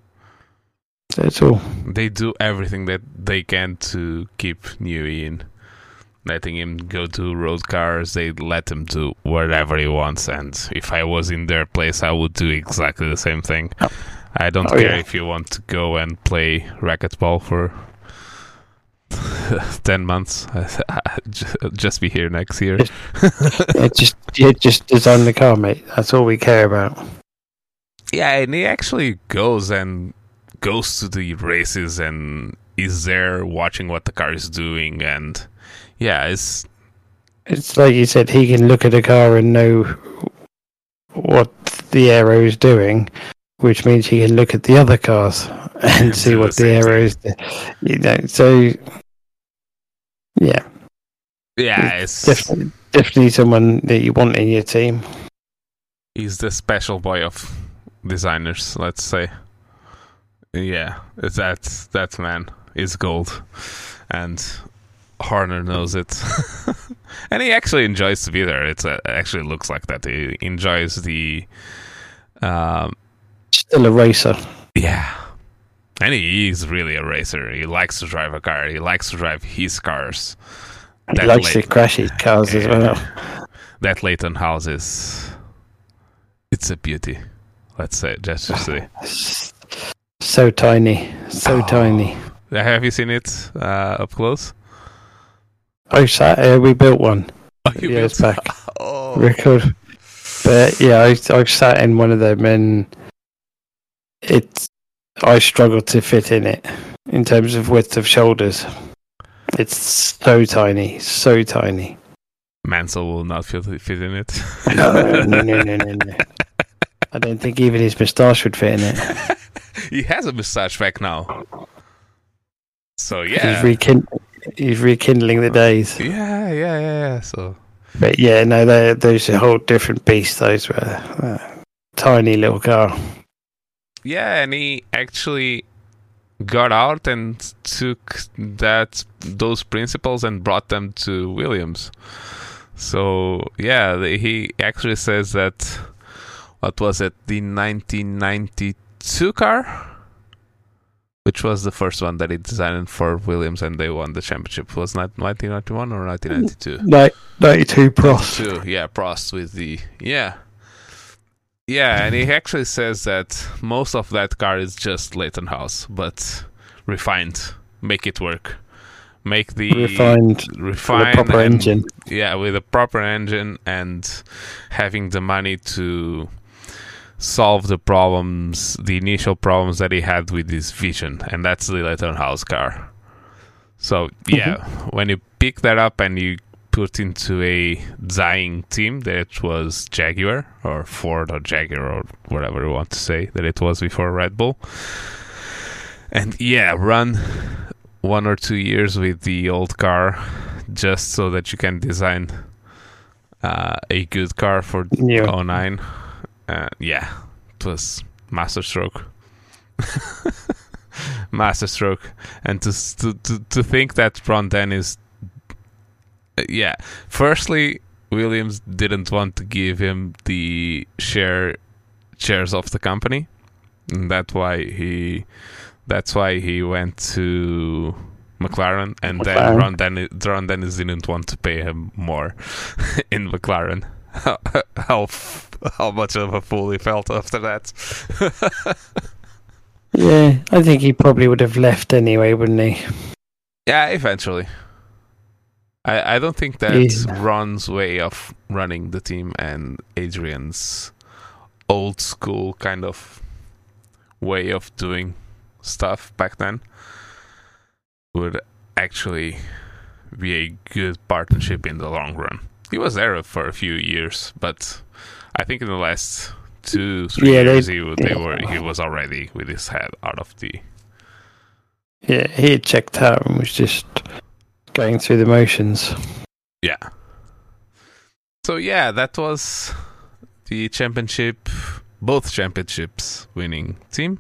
That's all. They do everything that they can to keep Newey in. Letting him go to road cars, they let him do whatever he wants. And if I was in their place, I would do exactly the same thing. Oh. I don't oh, care yeah. if you want to go and play racquetball for ten months. Just be here next year. Just, yeah, just, yeah, just design the car, mate. That's all we care about. Yeah, and he actually goes and goes to the races and is there watching what the car is doing, and yeah, it's it's like you said, he can look at a car and know what the aero is doing, which means he can look at the other cars and see what the, the aero is doing. You know, so yeah, yeah, it's definitely, definitely someone that you want in your team. He's the special boy of designers, let's say. Yeah, it's that that man is gold, and Horner knows it, and he actually enjoys to be there. It's uh, actually looks like that. He enjoys the. Um, Still a racer. Yeah, and he is really a racer. He likes to drive a car. He likes to drive his cars. He that likes Leighton, to crash his cars uh, as well. That Leighton house is. It's a beauty. Let's say, just to say. So tiny, so oh. tiny. Have you seen it uh, up close? I sat. Uh, we built one oh, you years built? back. Oh. Record. But yeah, I I sat in one of them, and it's. I struggle to fit in it in terms of width of shoulders. It's so tiny, so tiny. Mansell will not fit fit in it. no, no, no, no, no, no. I don't think even his moustache would fit in it. He has a moustache back now. So yeah, he's, rekind- he's rekindling the days. Yeah, yeah, yeah. yeah. So, but yeah, no, those are a whole different beast. Those were uh, tiny little car. Yeah, and he actually got out and took that those principles and brought them to Williams. So yeah, the, he actually says that. What was it? The nineteen ninety-two car, which was the first one that he designed for Williams, and they won the championship. Was it nineteen ninety-one or nineteen ninety-two? ninety-two Prost. ninety-two, yeah, Prost with the yeah, yeah, and he actually says that most of that car is just Leighton House, but refined, make it work, make the refined, refined with a proper and, engine. Yeah, with a proper engine and having the money to. Solve the problems, the initial problems that he had with his Vision, and that's the Leighton House car. So yeah, mm-hmm. when you pick that up and you put into a dying team that was Jaguar or Ford or Jaguar or whatever you want to say that it was before Red Bull, and yeah, run one or two years with the old car just so that you can design uh, a good car for yeah. oh nine. Uh, yeah, it was masterstroke, masterstroke, and to to to, to think that Ron Dennis, uh, yeah. Firstly, Williams didn't want to give him the share shares of the company, and that's why he that's why he went to McLaren, and McLaren. then Ron Dennis, Ron Dennis didn't want to pay him more in McLaren. How, how how much of a fool he felt after that. Yeah, I think he probably would have left anyway, wouldn't he? Yeah, eventually. I, I don't think that yeah. Ron's way of running the team and Adrian's old school kind of way of doing stuff back then would actually be a good partnership in the long run. He was there for a few years, but I think in the last two, three yeah, years, they, he, they were he was already with his head out of the. Yeah, he had checked out and was just going through the motions. Yeah. So yeah, that was the championship, both championships winning team.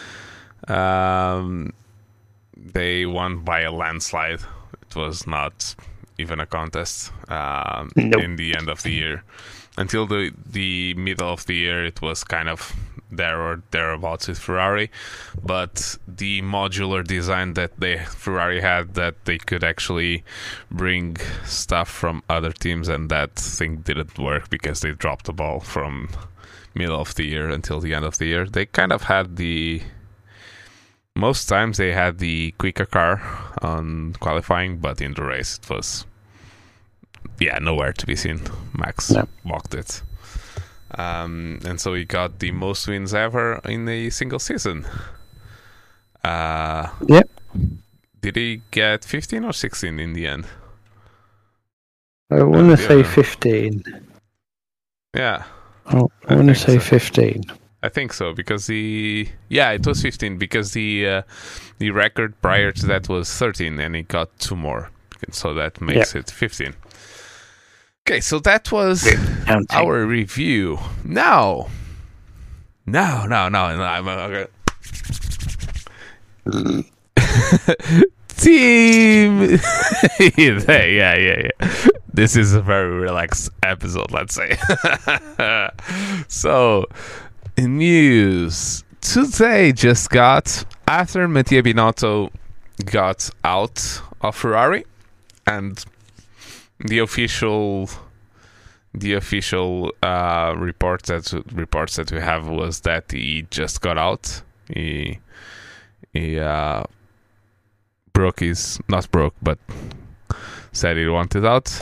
Um, they won by a landslide. It was not even a contest um, nope. in the end of the year. Until the the middle of the year, it was kind of there or thereabouts with Ferrari. But the modular design that they Ferrari had, that they could actually bring stuff from other teams, and that thing didn't work because they dropped the ball from middle of the year until the end of the year. They kind of had the... Most times they had the quicker car on qualifying, but in the race it was... Yeah, nowhere to be seen. Max yeah. walked it. Um, and so he got the most wins ever in a single season. Uh, Yep. Did he get fifteen or sixteen in the end? I want to say fifteen. Yeah. Oh, I, I want to say so. fifteen. I think so because the yeah it was fifteen because the uh, the record prior to that was thirteen and he got two more, so that makes yep. it fifteen. Okay, so that was our review. Now, no, no, no, no I'm okay. Team. yeah, yeah, yeah. This is a very relaxed episode, let's say. So, news today just got after Mattia Binotto got out of Ferrari, and the official, the official uh, report that reports that we have was that he just got out. He he uh, broke his not broke, but said he wanted out.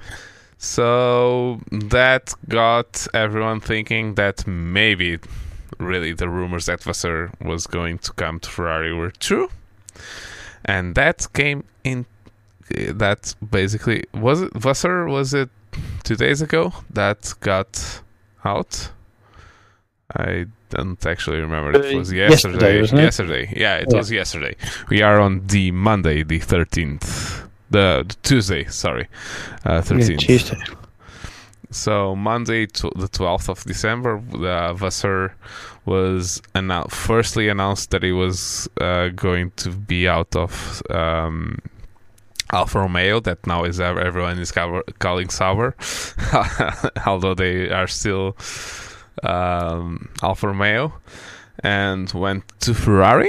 So that got everyone thinking that maybe really the rumors that Vasseur was going to come to Ferrari were true, and that came in. That basically was it. Vasseur, was it two days ago that got out? I don't actually remember. It was yesterday. Yesterday, yesterday. Yeah, it yeah. was yesterday. We are on the Monday, the thirteenth. The, the Tuesday, sorry, uh, thirteenth. Yeah, Tuesday. So Monday, to the twelfth of December, uh, Vasseur was annou- firstly announced that he was uh, going to be out of um, Alfa Romeo. That now is uh, everyone is cover- calling Sauber, although they are still um, Alfa Romeo, and went to Ferrari.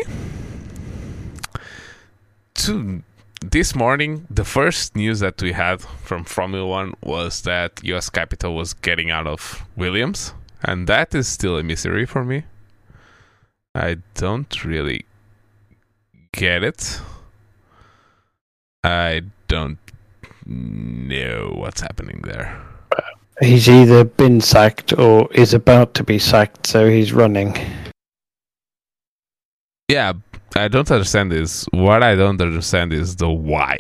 To This morning, the first news that we had from Formula One was that U S Capital was getting out of Williams, and that is still a mystery for me. I don't really get it. I don't know what's happening there. He's either been sacked or is about to be sacked, so he's running. Yeah, I don't understand this. What I don't understand is the why.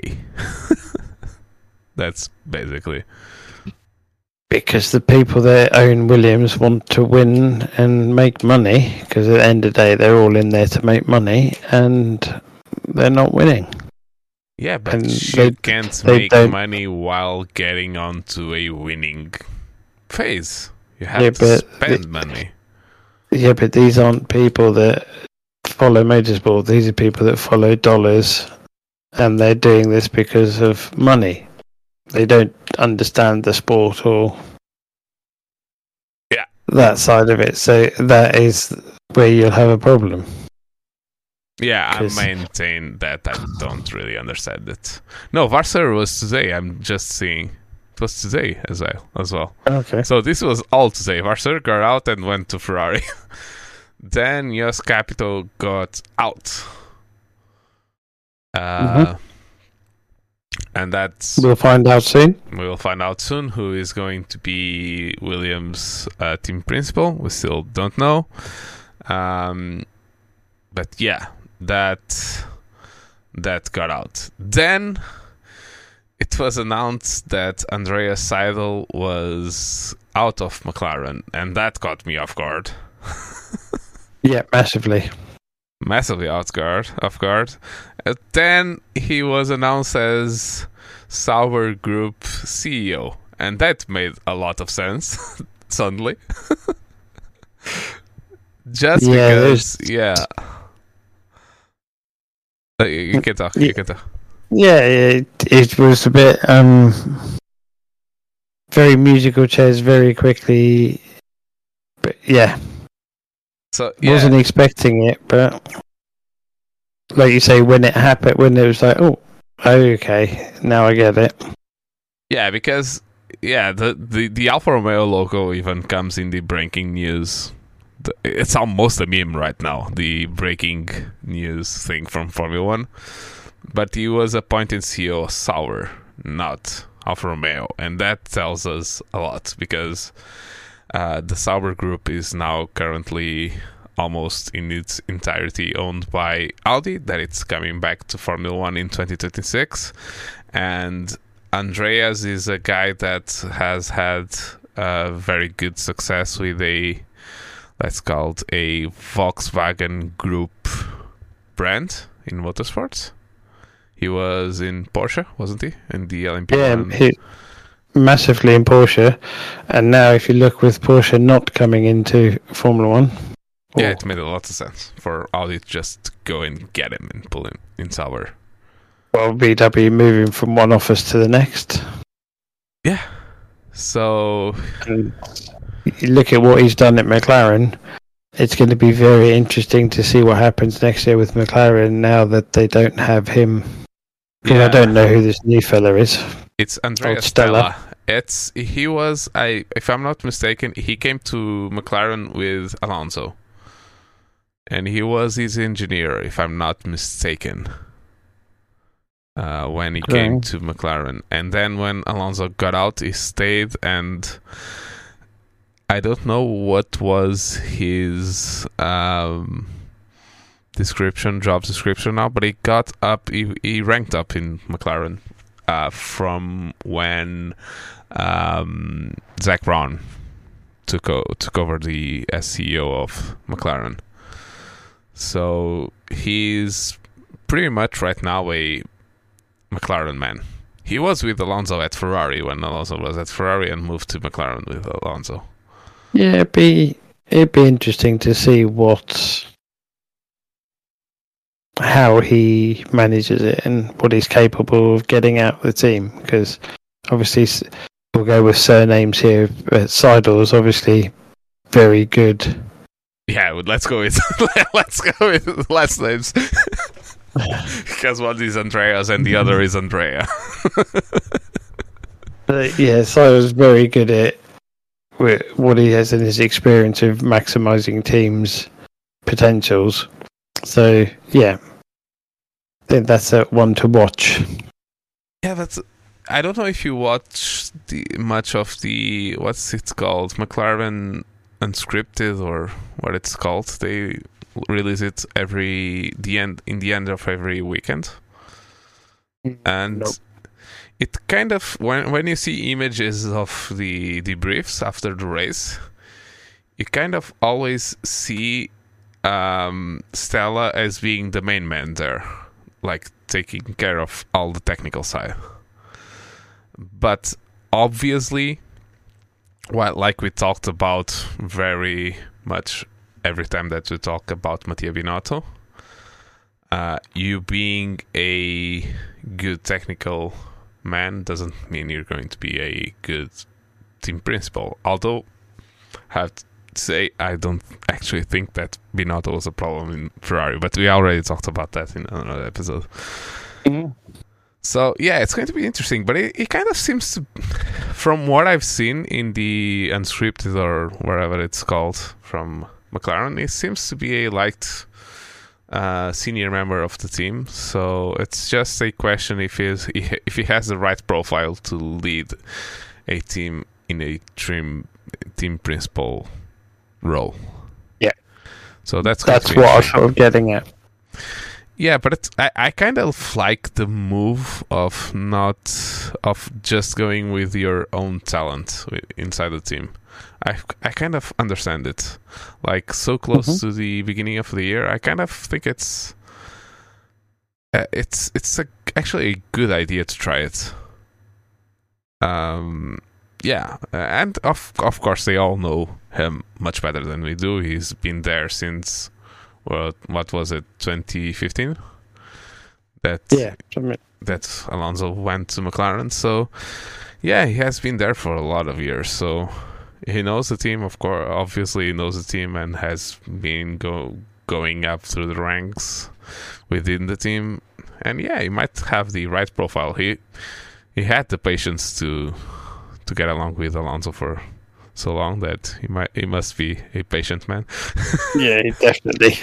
That's basically. Because the people that own Williams want to win and make money, because at the end of the day, they're all in there to make money, and they're not winning. Yeah, but and you they, can't they make don't... money while getting onto a winning phase. You have yeah, to spend the, money. Yeah, but these aren't people that follow motorsport. These are people that follow dollars, and they're doing this because of money. They don't understand the sport or yeah that side of it. So that is where you'll have a problem. Yeah, I maintain that I don't really understand it. No, Vasseur was today. I'm just seeing it was today as well. As well. Okay. So this was all today. Vasseur got out and went to Ferrari. Then U S Capital got out. Uh, mm-hmm. And that's... We'll find out soon. We'll find out soon who is going to be Williams' uh, team principal. We still don't know. Um, but yeah, that that got out. Then it was announced that Andreas Seidel was out of McLaren, and that caught me off guard. Yeah, massively. Massively off guard. Off guard. Uh, then he was announced as Sauber Group C E O, and that made a lot of sense suddenly. Just yeah, because, there's... yeah. Uh, you can talk. You can talk. Yeah, it, it was a bit um, very musical chairs, very quickly. But yeah. So yeah. Wasn't expecting it, but like you say, when it happened, when it was like, oh, okay, now I get it. Yeah, because yeah, the the, the Alfa Romeo logo even comes in the breaking news. The, it's almost a meme right now, the breaking news thing from Formula One. But he was appointed C E O of Sauber, not Alfa Romeo, and that tells us a lot because uh, the Sauber Group is now currently almost in its entirety owned by Audi, that it's coming back to Formula One in twenty twenty-six. And Andreas is a guy that has had uh, very good success with a, let's call it a Volkswagen Group brand in motorsports. He was in Porsche, wasn't he? In the L M P one. Yeah, he, massively in Porsche. And now if you look with Porsche not coming into Formula One. Yeah, it made a lot of sense for Audi to just go and get him and pull him in Sauber. Well, B W moving from one office to the next. Yeah. So... And you look at what he's done at McLaren, it's going to be very interesting to see what happens next year with McLaren now that they don't have him. Yeah. I don't know who this new fella is. It's Andrea Stella. It's he was I if I'm not mistaken, he came to McLaren with Alonso. And he was his engineer, if I'm not mistaken. Uh, when he okay. came to McLaren. And then when Alonso got out, he stayed, and I don't know what was his um, description, job description now, but he got up, he, he ranked up in McLaren uh, from when um, Zach Brown took, o- took over the as C E O of McLaren. So he's pretty much right now a McLaren man. He was with Alonso at Ferrari when Alonso was at Ferrari and moved to McLaren with Alonso. Yeah, it'd be it'd be interesting to see what how he manages it and what he's capable of getting out of the team. Because obviously we'll go with surnames here. But Seidel is obviously very good. Yeah, let's go with let's go with last names. Because one is Andreas and the other is Andrea. But yeah, Seidel's very good at what he has in his experience of maximising teams' potentials. So yeah, I think that's a one to watch. Yeah, but I don't know if you watch the much of the what's it called, McLaren Unscripted or what it's called. They release it every the end in the end of every weekend, and nope. It kind of when when you see images of the debriefs after the race, you kind of always see um, Stella as being the main man there, like taking care of all the technical side. But obviously, well, like we talked about very much every time that we talk about Mattia Binotto, uh, you being a good technical man doesn't mean you're going to be a good team principal. Although, I have to say, I don't actually think that Binotto was a problem in Ferrari, but we already talked about that in another episode. Mm-hmm. So, yeah, it's going to be interesting, but it, it kind of seems to, from what I've seen in the Unscripted or wherever it's called from McLaren, it seems to be a liked uh, senior member of the team. So it's just a question if he's, if he has the right profile to lead a team in a team team principal role. Yeah. So that's that's what I'm sort of getting at. Yeah, but it's, I, I kind of like the move of not of just going with your own talent inside the team. I, I kind of understand it. Like, so close mm-hmm. to the beginning of the year, I kind of think it's uh, it's it's a, actually a good idea to try it. Um, yeah, and of of course they all know him much better than we do. He's been there since what what was it, twenty fifteen? That yeah, that Alonso went to McLaren. So yeah, he has been there for a lot of years. So he knows the team, of course. Obviously, he knows the team and has been go going up through the ranks within the team. And yeah, he might have the right profile. He he had the patience to to get along with Alonso for so long that he might he must be a patient man. Yeah, definitely.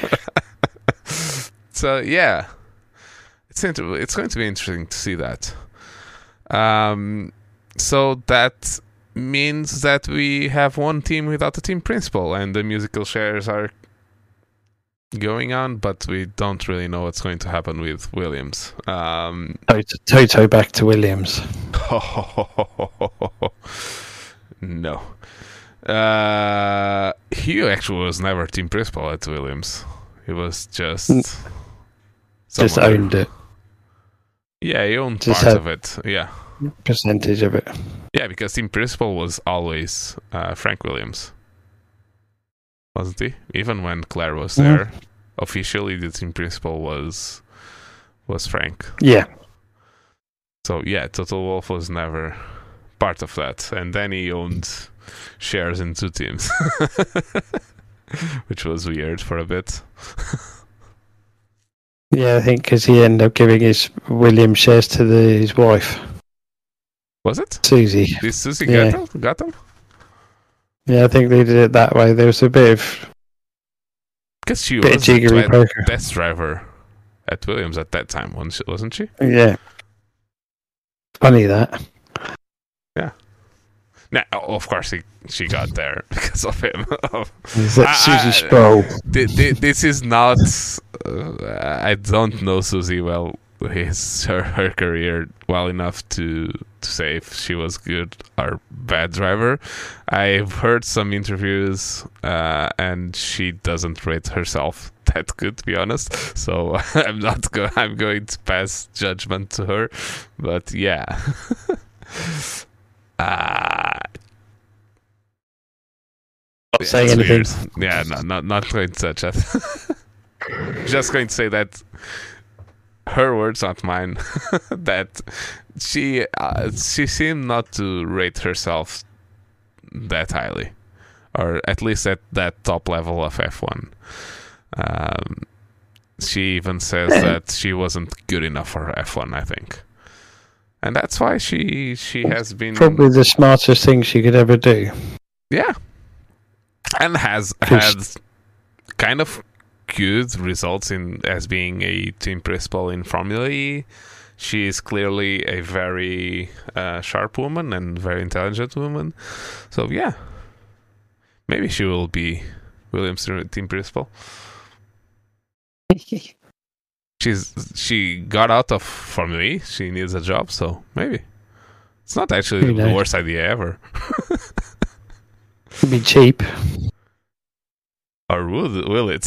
So yeah, it's inter- it's going to be interesting to see that. Um, so that means that we have one team without a team principal, and the musical chairs are going on, but we don't really know what's going to happen with Williams. Um, Toto, Toto back to Williams. no. Uh, he actually was never team principal at Williams. He was just just somewhere. owned it. Yeah, he owned Just part had- of it. Yeah, Percentage of it. yeah, because team principal was always uh, Frank Williams, wasn't he? Even when Claire was Mhm. there, officially the team principal was was Frank. Yeah. So yeah, Total Wolf was never part of that, and then he owned shares in two teams, which was weird for a bit. Yeah, I think because he ended up giving his Williams shares to the, his wife, Was it? Susie. Did Susie Yeah. get them? Got them? Yeah, I think they did it that way. There was a bit of Because she bit of was the jiggery tle- poker. test driver at Williams at that time, wasn't she- wasn't she? Yeah. Funny that. No, of course she, she got there because of him. Is that I- Susie I- Sproul? Th- th- this is not. Uh, I don't know Susie well, his her, her career well enough to to say if she was good or bad driver. I've heard some interviews, uh, and she doesn't rate herself that good, to be honest. So I'm not. Go- I'm going to pass judgment to her, but yeah. uh, Not saying it's anything. weird. Yeah, no, not not going to touch it. Just going to say that her words, not mine. That she uh, she seemed not to rate herself that highly, or at least at that top level of F one. Um, she even says that she wasn't good enough for F one. I think, and that's why she she has been Probably the smartest thing she could ever do. yeah, and has had kind of good results in as being a team principal in Formula E. She is clearly a very uh, sharp woman and very intelligent woman. So yeah, maybe she will be Williams' team principal. She's she got out of Formula E. She needs a job, so maybe it's not actually Who the knows? worst idea ever. It'd be cheap. Or would, will it?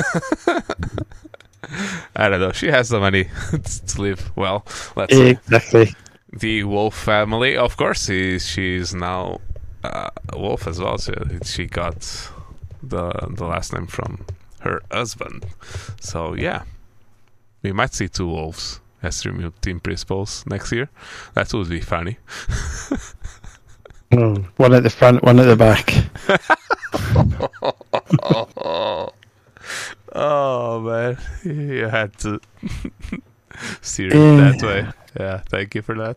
I don't know. She has the money to live well. Let's say. Exactly. The Wolf family, of course, she, she's now uh, a Wolf as well. So she got the the last name from her husband. So yeah, we might see two Wolves as team team principals next year. That would be funny. Mm. One at the front, one at the back. Oh man, you had to steer it Yeah. that way. Yeah, thank you for that.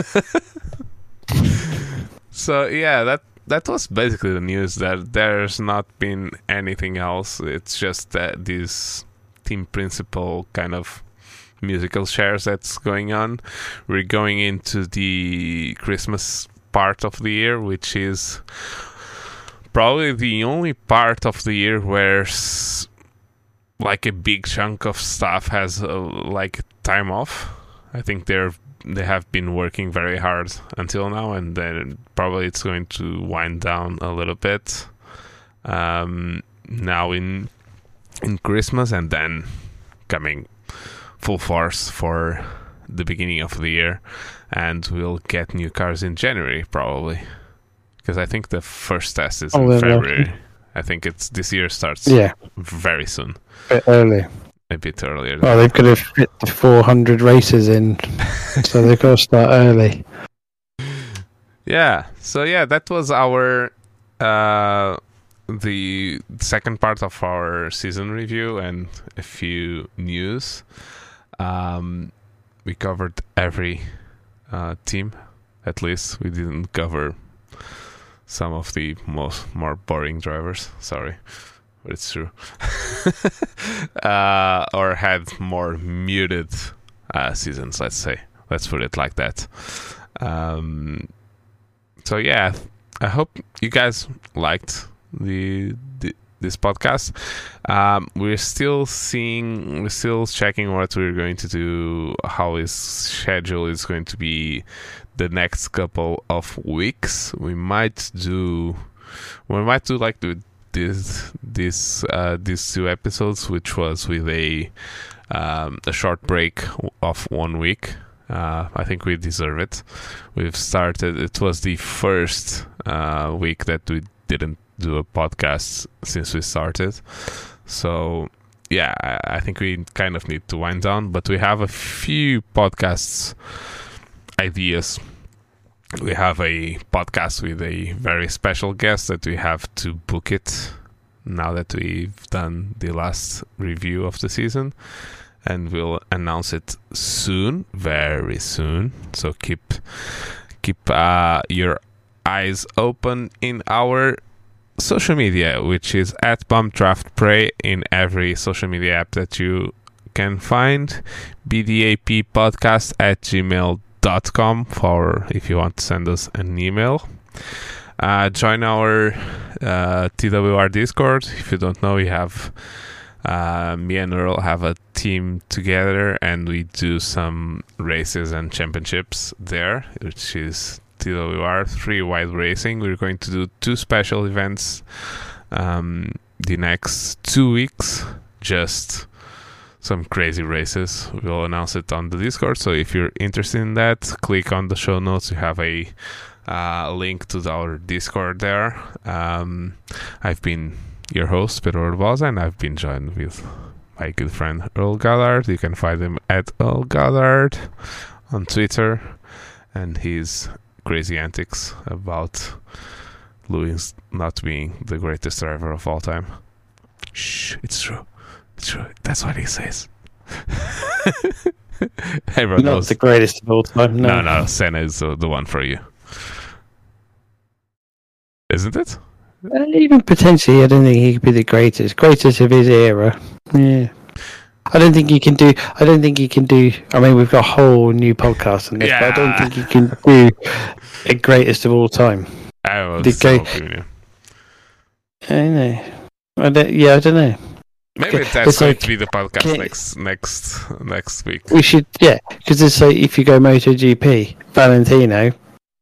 So yeah, that that was basically the news. That there's not been anything else. It's just that this team principal kind of musical shares that's going on. We're going into the Christmas part of the year, which is probably the only part of the year where s- like a big chunk of staff has uh, like time off. I think they're they have been working very hard until now, and then probably it's going to wind down a little bit um, now in in Christmas, and then coming full force for the beginning of the year, and we'll get new cars in January probably, because I think the first test is Oh, in they're February. lucky. I think it's this year starts Yeah, very soon, a bit early. a bit earlier. Well, they've got to fit the four hundred races in, so they've got to start early. Yeah. So yeah, that was our uh the second part of our season review and a few news. Um we covered every uh team. At least we didn't cover some of the most more boring drivers. Sorry. But it's true. uh or had more muted uh seasons, let's say. Let's put it like that. Um So yeah, I hope you guys liked the the, this podcast. Um, we're still seeing, we're still checking what we're going to do, how his schedule is going to be the next couple of weeks. We might do, we might do like the, this, this, uh, these two episodes, which was with a, um, a short break of one week. Uh, I think we deserve it. We've started, it was the first uh, week that we didn't do a podcast since we started. So, yeah, I, I think we kind of need to wind down, but we have a few podcasts ideas. We have a podcast with a very special guest that we have to book it now that we've done the last review of the season. And we'll announce it soon, very soon. So keep keep uh, your eyes open in our social media, which is at Bump Draft Pray in every social media app that you can find. B D A P podcast at gmail dot com for if you want to send us an email. Uh, join our uh, T W R Discord. If you don't know, we have... Uh, me and Earl have a team together and we do some races and championships there, which is T W R Three Wide Racing. We're going to do two special events um, the next two weeks, just some crazy races. We'll announce it on the Discord, so if you're interested in that, click on the show notes. You have a uh, link to our Discord there. um, I've been your host, Pedro Urbosa, and I've been joined with my good friend Earl Goddard. You can find him at Earl Goddard on Twitter, and his crazy antics about Lewis not being the greatest driver of all time. Shh, it's true. It's true. That's what he says. Everyone Not knows. the greatest of all time. No, No, no, Senna is uh, the one for you. Isn't it? Uh, even potentially, I don't think he could be the greatest. Greatest of his era. Yeah. I don't think he can do. I don't think he can do. I mean, we've got a whole new podcast on this, Yeah. but I don't think he can do a greatest of all time. I was The so great- opinion. I don't know. I don't, yeah, I don't know. Maybe Okay, that's it's going like- to be the podcast okay. next next next week. We should, yeah, because it's like if you go MotoGP, Valentino,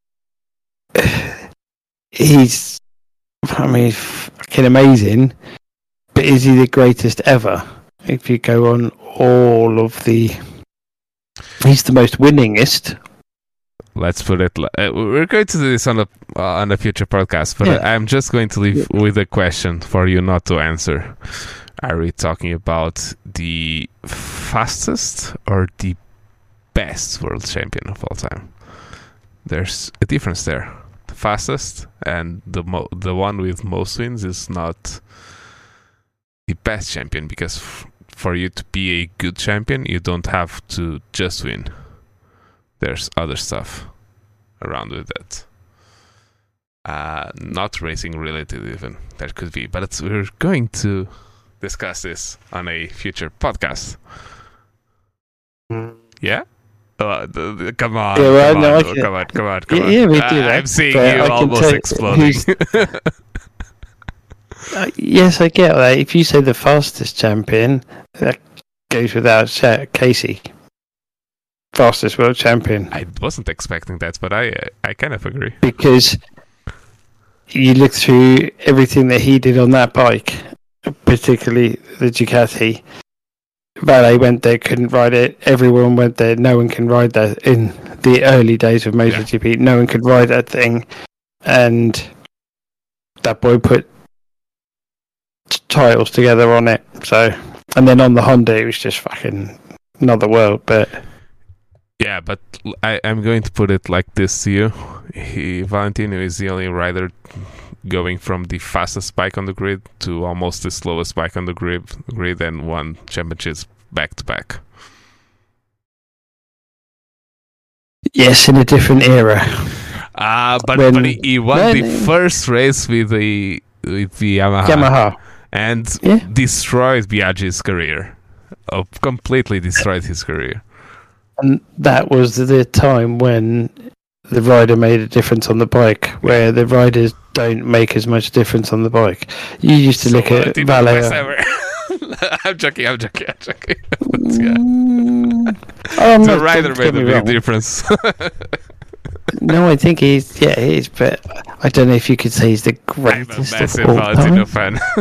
he's, I mean, fucking amazing, but is he the greatest ever? If you go on all of the, he's the most winningest. Let's put it. li- Uh, we're going to do this on a uh, on a future podcast, but Yeah. I'm just going to leave with a question for you not to answer. Are we talking about the fastest or the best world champion of all time? There's a difference there. The fastest and the mo- the one with most wins is not the best champion, because f- for you to be a good champion, you don't have to just win. There's other stuff around with that. Uh, not racing related even. That could be. But it's, we're going to discuss this on a future podcast. Yeah? Uh, the, the, come on, Yeah, well, come, no, on I can- come on, come on, come Yeah, on. yeah, we Uh, do that, I'm seeing but you I can almost tell exploding. who's- Uh, yes, I get that. If you say the fastest champion, that goes without sa- Casey. Fastest world champion. I wasn't expecting that, but I I kind of agree. Because you look through everything that he did on that bike, particularly the Ducati. Valet went there, couldn't ride it. Everyone went there. No one can ride that. In the early days of MotoGP, no one could ride that thing. And that boy put t- titles together on it. So, and then on the Honda, it was just fucking another world. But Yeah, but l- I, am going to put it like this to you. He, Valentino is the only rider going from the fastest bike on the grid to almost the slowest bike on the grid, grid and won championships back to back. yes, in a different era. Ah, but, When- but he, he won when- the first race with the with the Yamaha, Yamaha. and Yeah. destroyed Biaggi's career. Oh, completely destroyed his career. And that was the time when the rider made a difference on the bike, where the riders don't make as much difference on the bike. You used to So look at Valeo. I'm joking, I'm joking, I'm joking. Yeah. Mm, oh, The not- rider don't made get a me big wrong. difference. No, I think he's yeah, he is, but I don't know if you could say he's the I'm a greatest massive of all Valentino time. fan.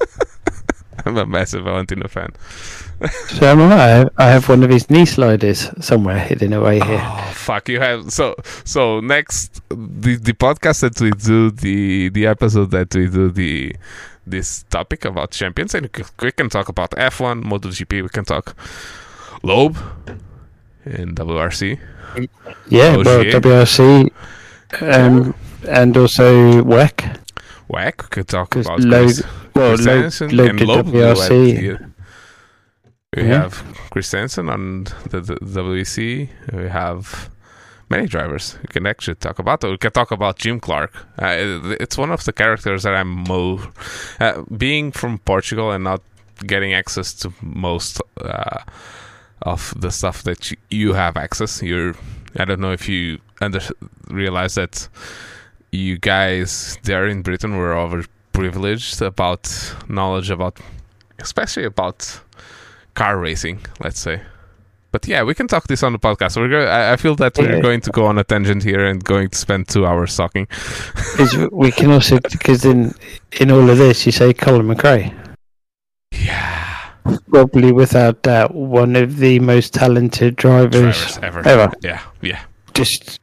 I'm a massive Valentino fan. So am I. I have one of his knee sliders somewhere hidden away here. Oh fuck! You have so so next the the podcast that we do the the episode that we do the this topic about champions, and we c- we can talk about F one, MotoGP. We can talk Loeb in W R C. Yeah, well, Ogier. W R C, um, and also W E C. W E C. We could talk 'Cause about Loeb- Chris, Well, Chris Loeb, Hansen Loeb and did Loeb W R will C. add the- We Yeah. have Chris Hansen on the, the W E C. We have many drivers we can actually talk about. We can talk about Jim Clark. Uh, it- it's one of the characters that I'm more... Uh, being from Portugal and not getting access to most uh, of the stuff that you, you have access. You're... I don't know if you under, realize that you guys there in Britain were overprivileged about knowledge about... Especially about car racing, let's say. But yeah, we can talk this on the podcast. We're go- I, I feel that we're Yeah. going to go on a tangent here and going to spend two hours talking. 'Cause we can also, because in in all of this, you say Colin McRae. Yeah, Probably without doubt one of the most talented drivers, drivers ever. ever. Yeah, yeah. Just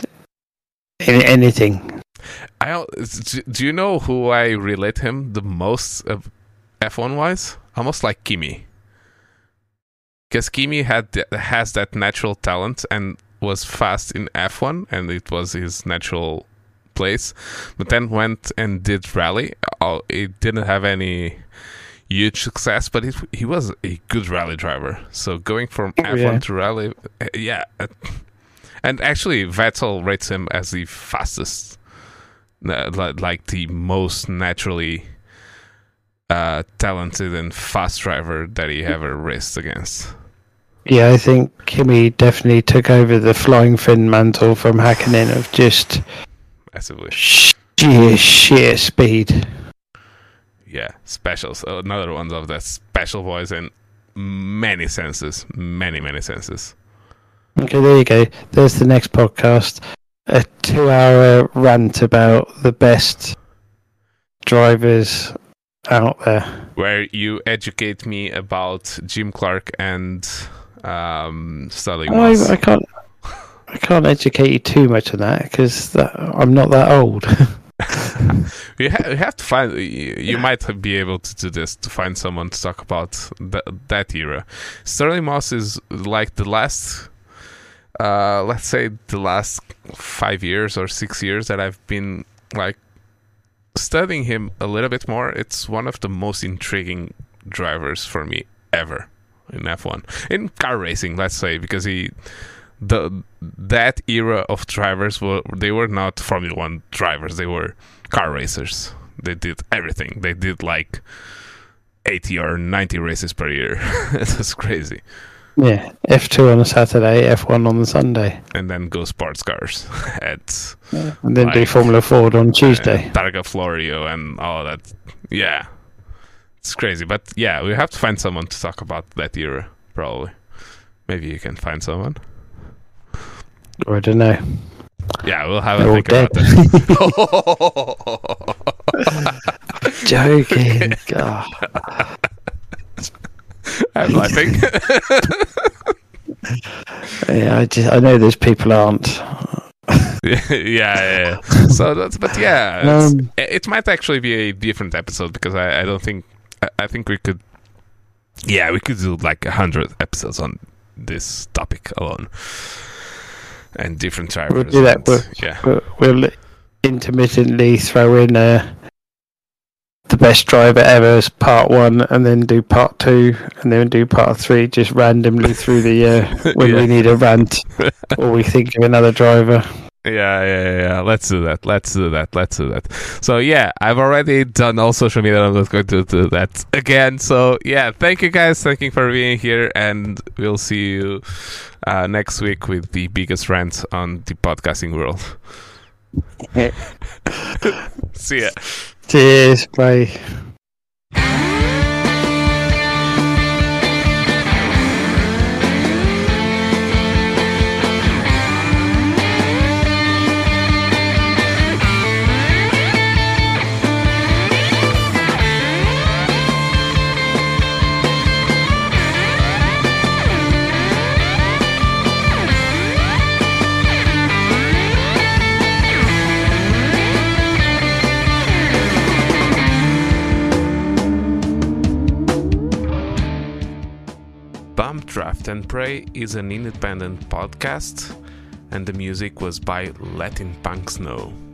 in anything. I don't- do- do you know who I relate him the most of F one wise? Almost like Kimi. Because Kimi had th- has that natural talent and was fast in F one, and it was his natural place. But then went and did rally. Oh, he didn't have any huge success, but it, he was a good rally driver. So going from Oh, F one yeah. to rally, uh, yeah. uh, And actually, Vettel rates him as the fastest, uh, li- like the most naturally uh, talented and fast driver that he ever raced against. Yeah, I think Kimi definitely took over the flying fin mantle from Hakkinen of just Massively. sheer, sheer speed. Yeah, specials. Another one of that special voice in many senses. Many, many senses. Okay, there you go. There's the next podcast. A two-hour rant about the best drivers out there. Where you educate me about Jim Clark and um, Sterling I, Moss. I can't. I can't educate you too much on that because I'm not that old. You, ha- you have to find. You, you might be able to do this to find someone to talk about th- that era. Sterling Moss is like the last, uh, let's say, the last five years or six years that I've been like studying him a little bit more. It's one of the most intriguing drivers for me ever in F one, in car racing. Let's say, because he. The that era of drivers were they were not Formula One drivers, they were car racers. They did everything. They did like eighty or ninety races per year. It was crazy. Yeah, F two on a Saturday, F one on the Sunday, And then go sports cars at and then do Like, Formula Ford on Tuesday. uh, Targa Florio and all that. Yeah, it's crazy. But yeah, we have to find someone to talk about that era. Probably, maybe you can find someone. Or I don't know. Yeah, we'll have a They're all think dead. about that. Joking. God. I'm laughing. Yeah, I just I know those people aren't. yeah, yeah, yeah. So that's, but yeah, it's- Um, it, it might actually be a different episode because I, I don't think I, I think we could. Yeah, we could do like a hundred episodes on this topic alone, and different drivers. We'll do that. and- We'll, yeah, we'll, we'll intermittently throw in uh, the best driver ever as part one, and then do part two, and then do part three, just randomly through the year when Yeah. we need a rant or we think of another driver. Yeah, yeah, yeah. Let's do that. Let's do that. Let's do that. So yeah, I've already done all social media. I'm not going to do that again. So yeah, thank you guys. Thank you for being here, and we'll see you uh, next week with the biggest rant on the podcasting world. See ya. Cheers. Bye. Bump, Draft and Pray is an independent podcast, and the music was by Letting Punks Know.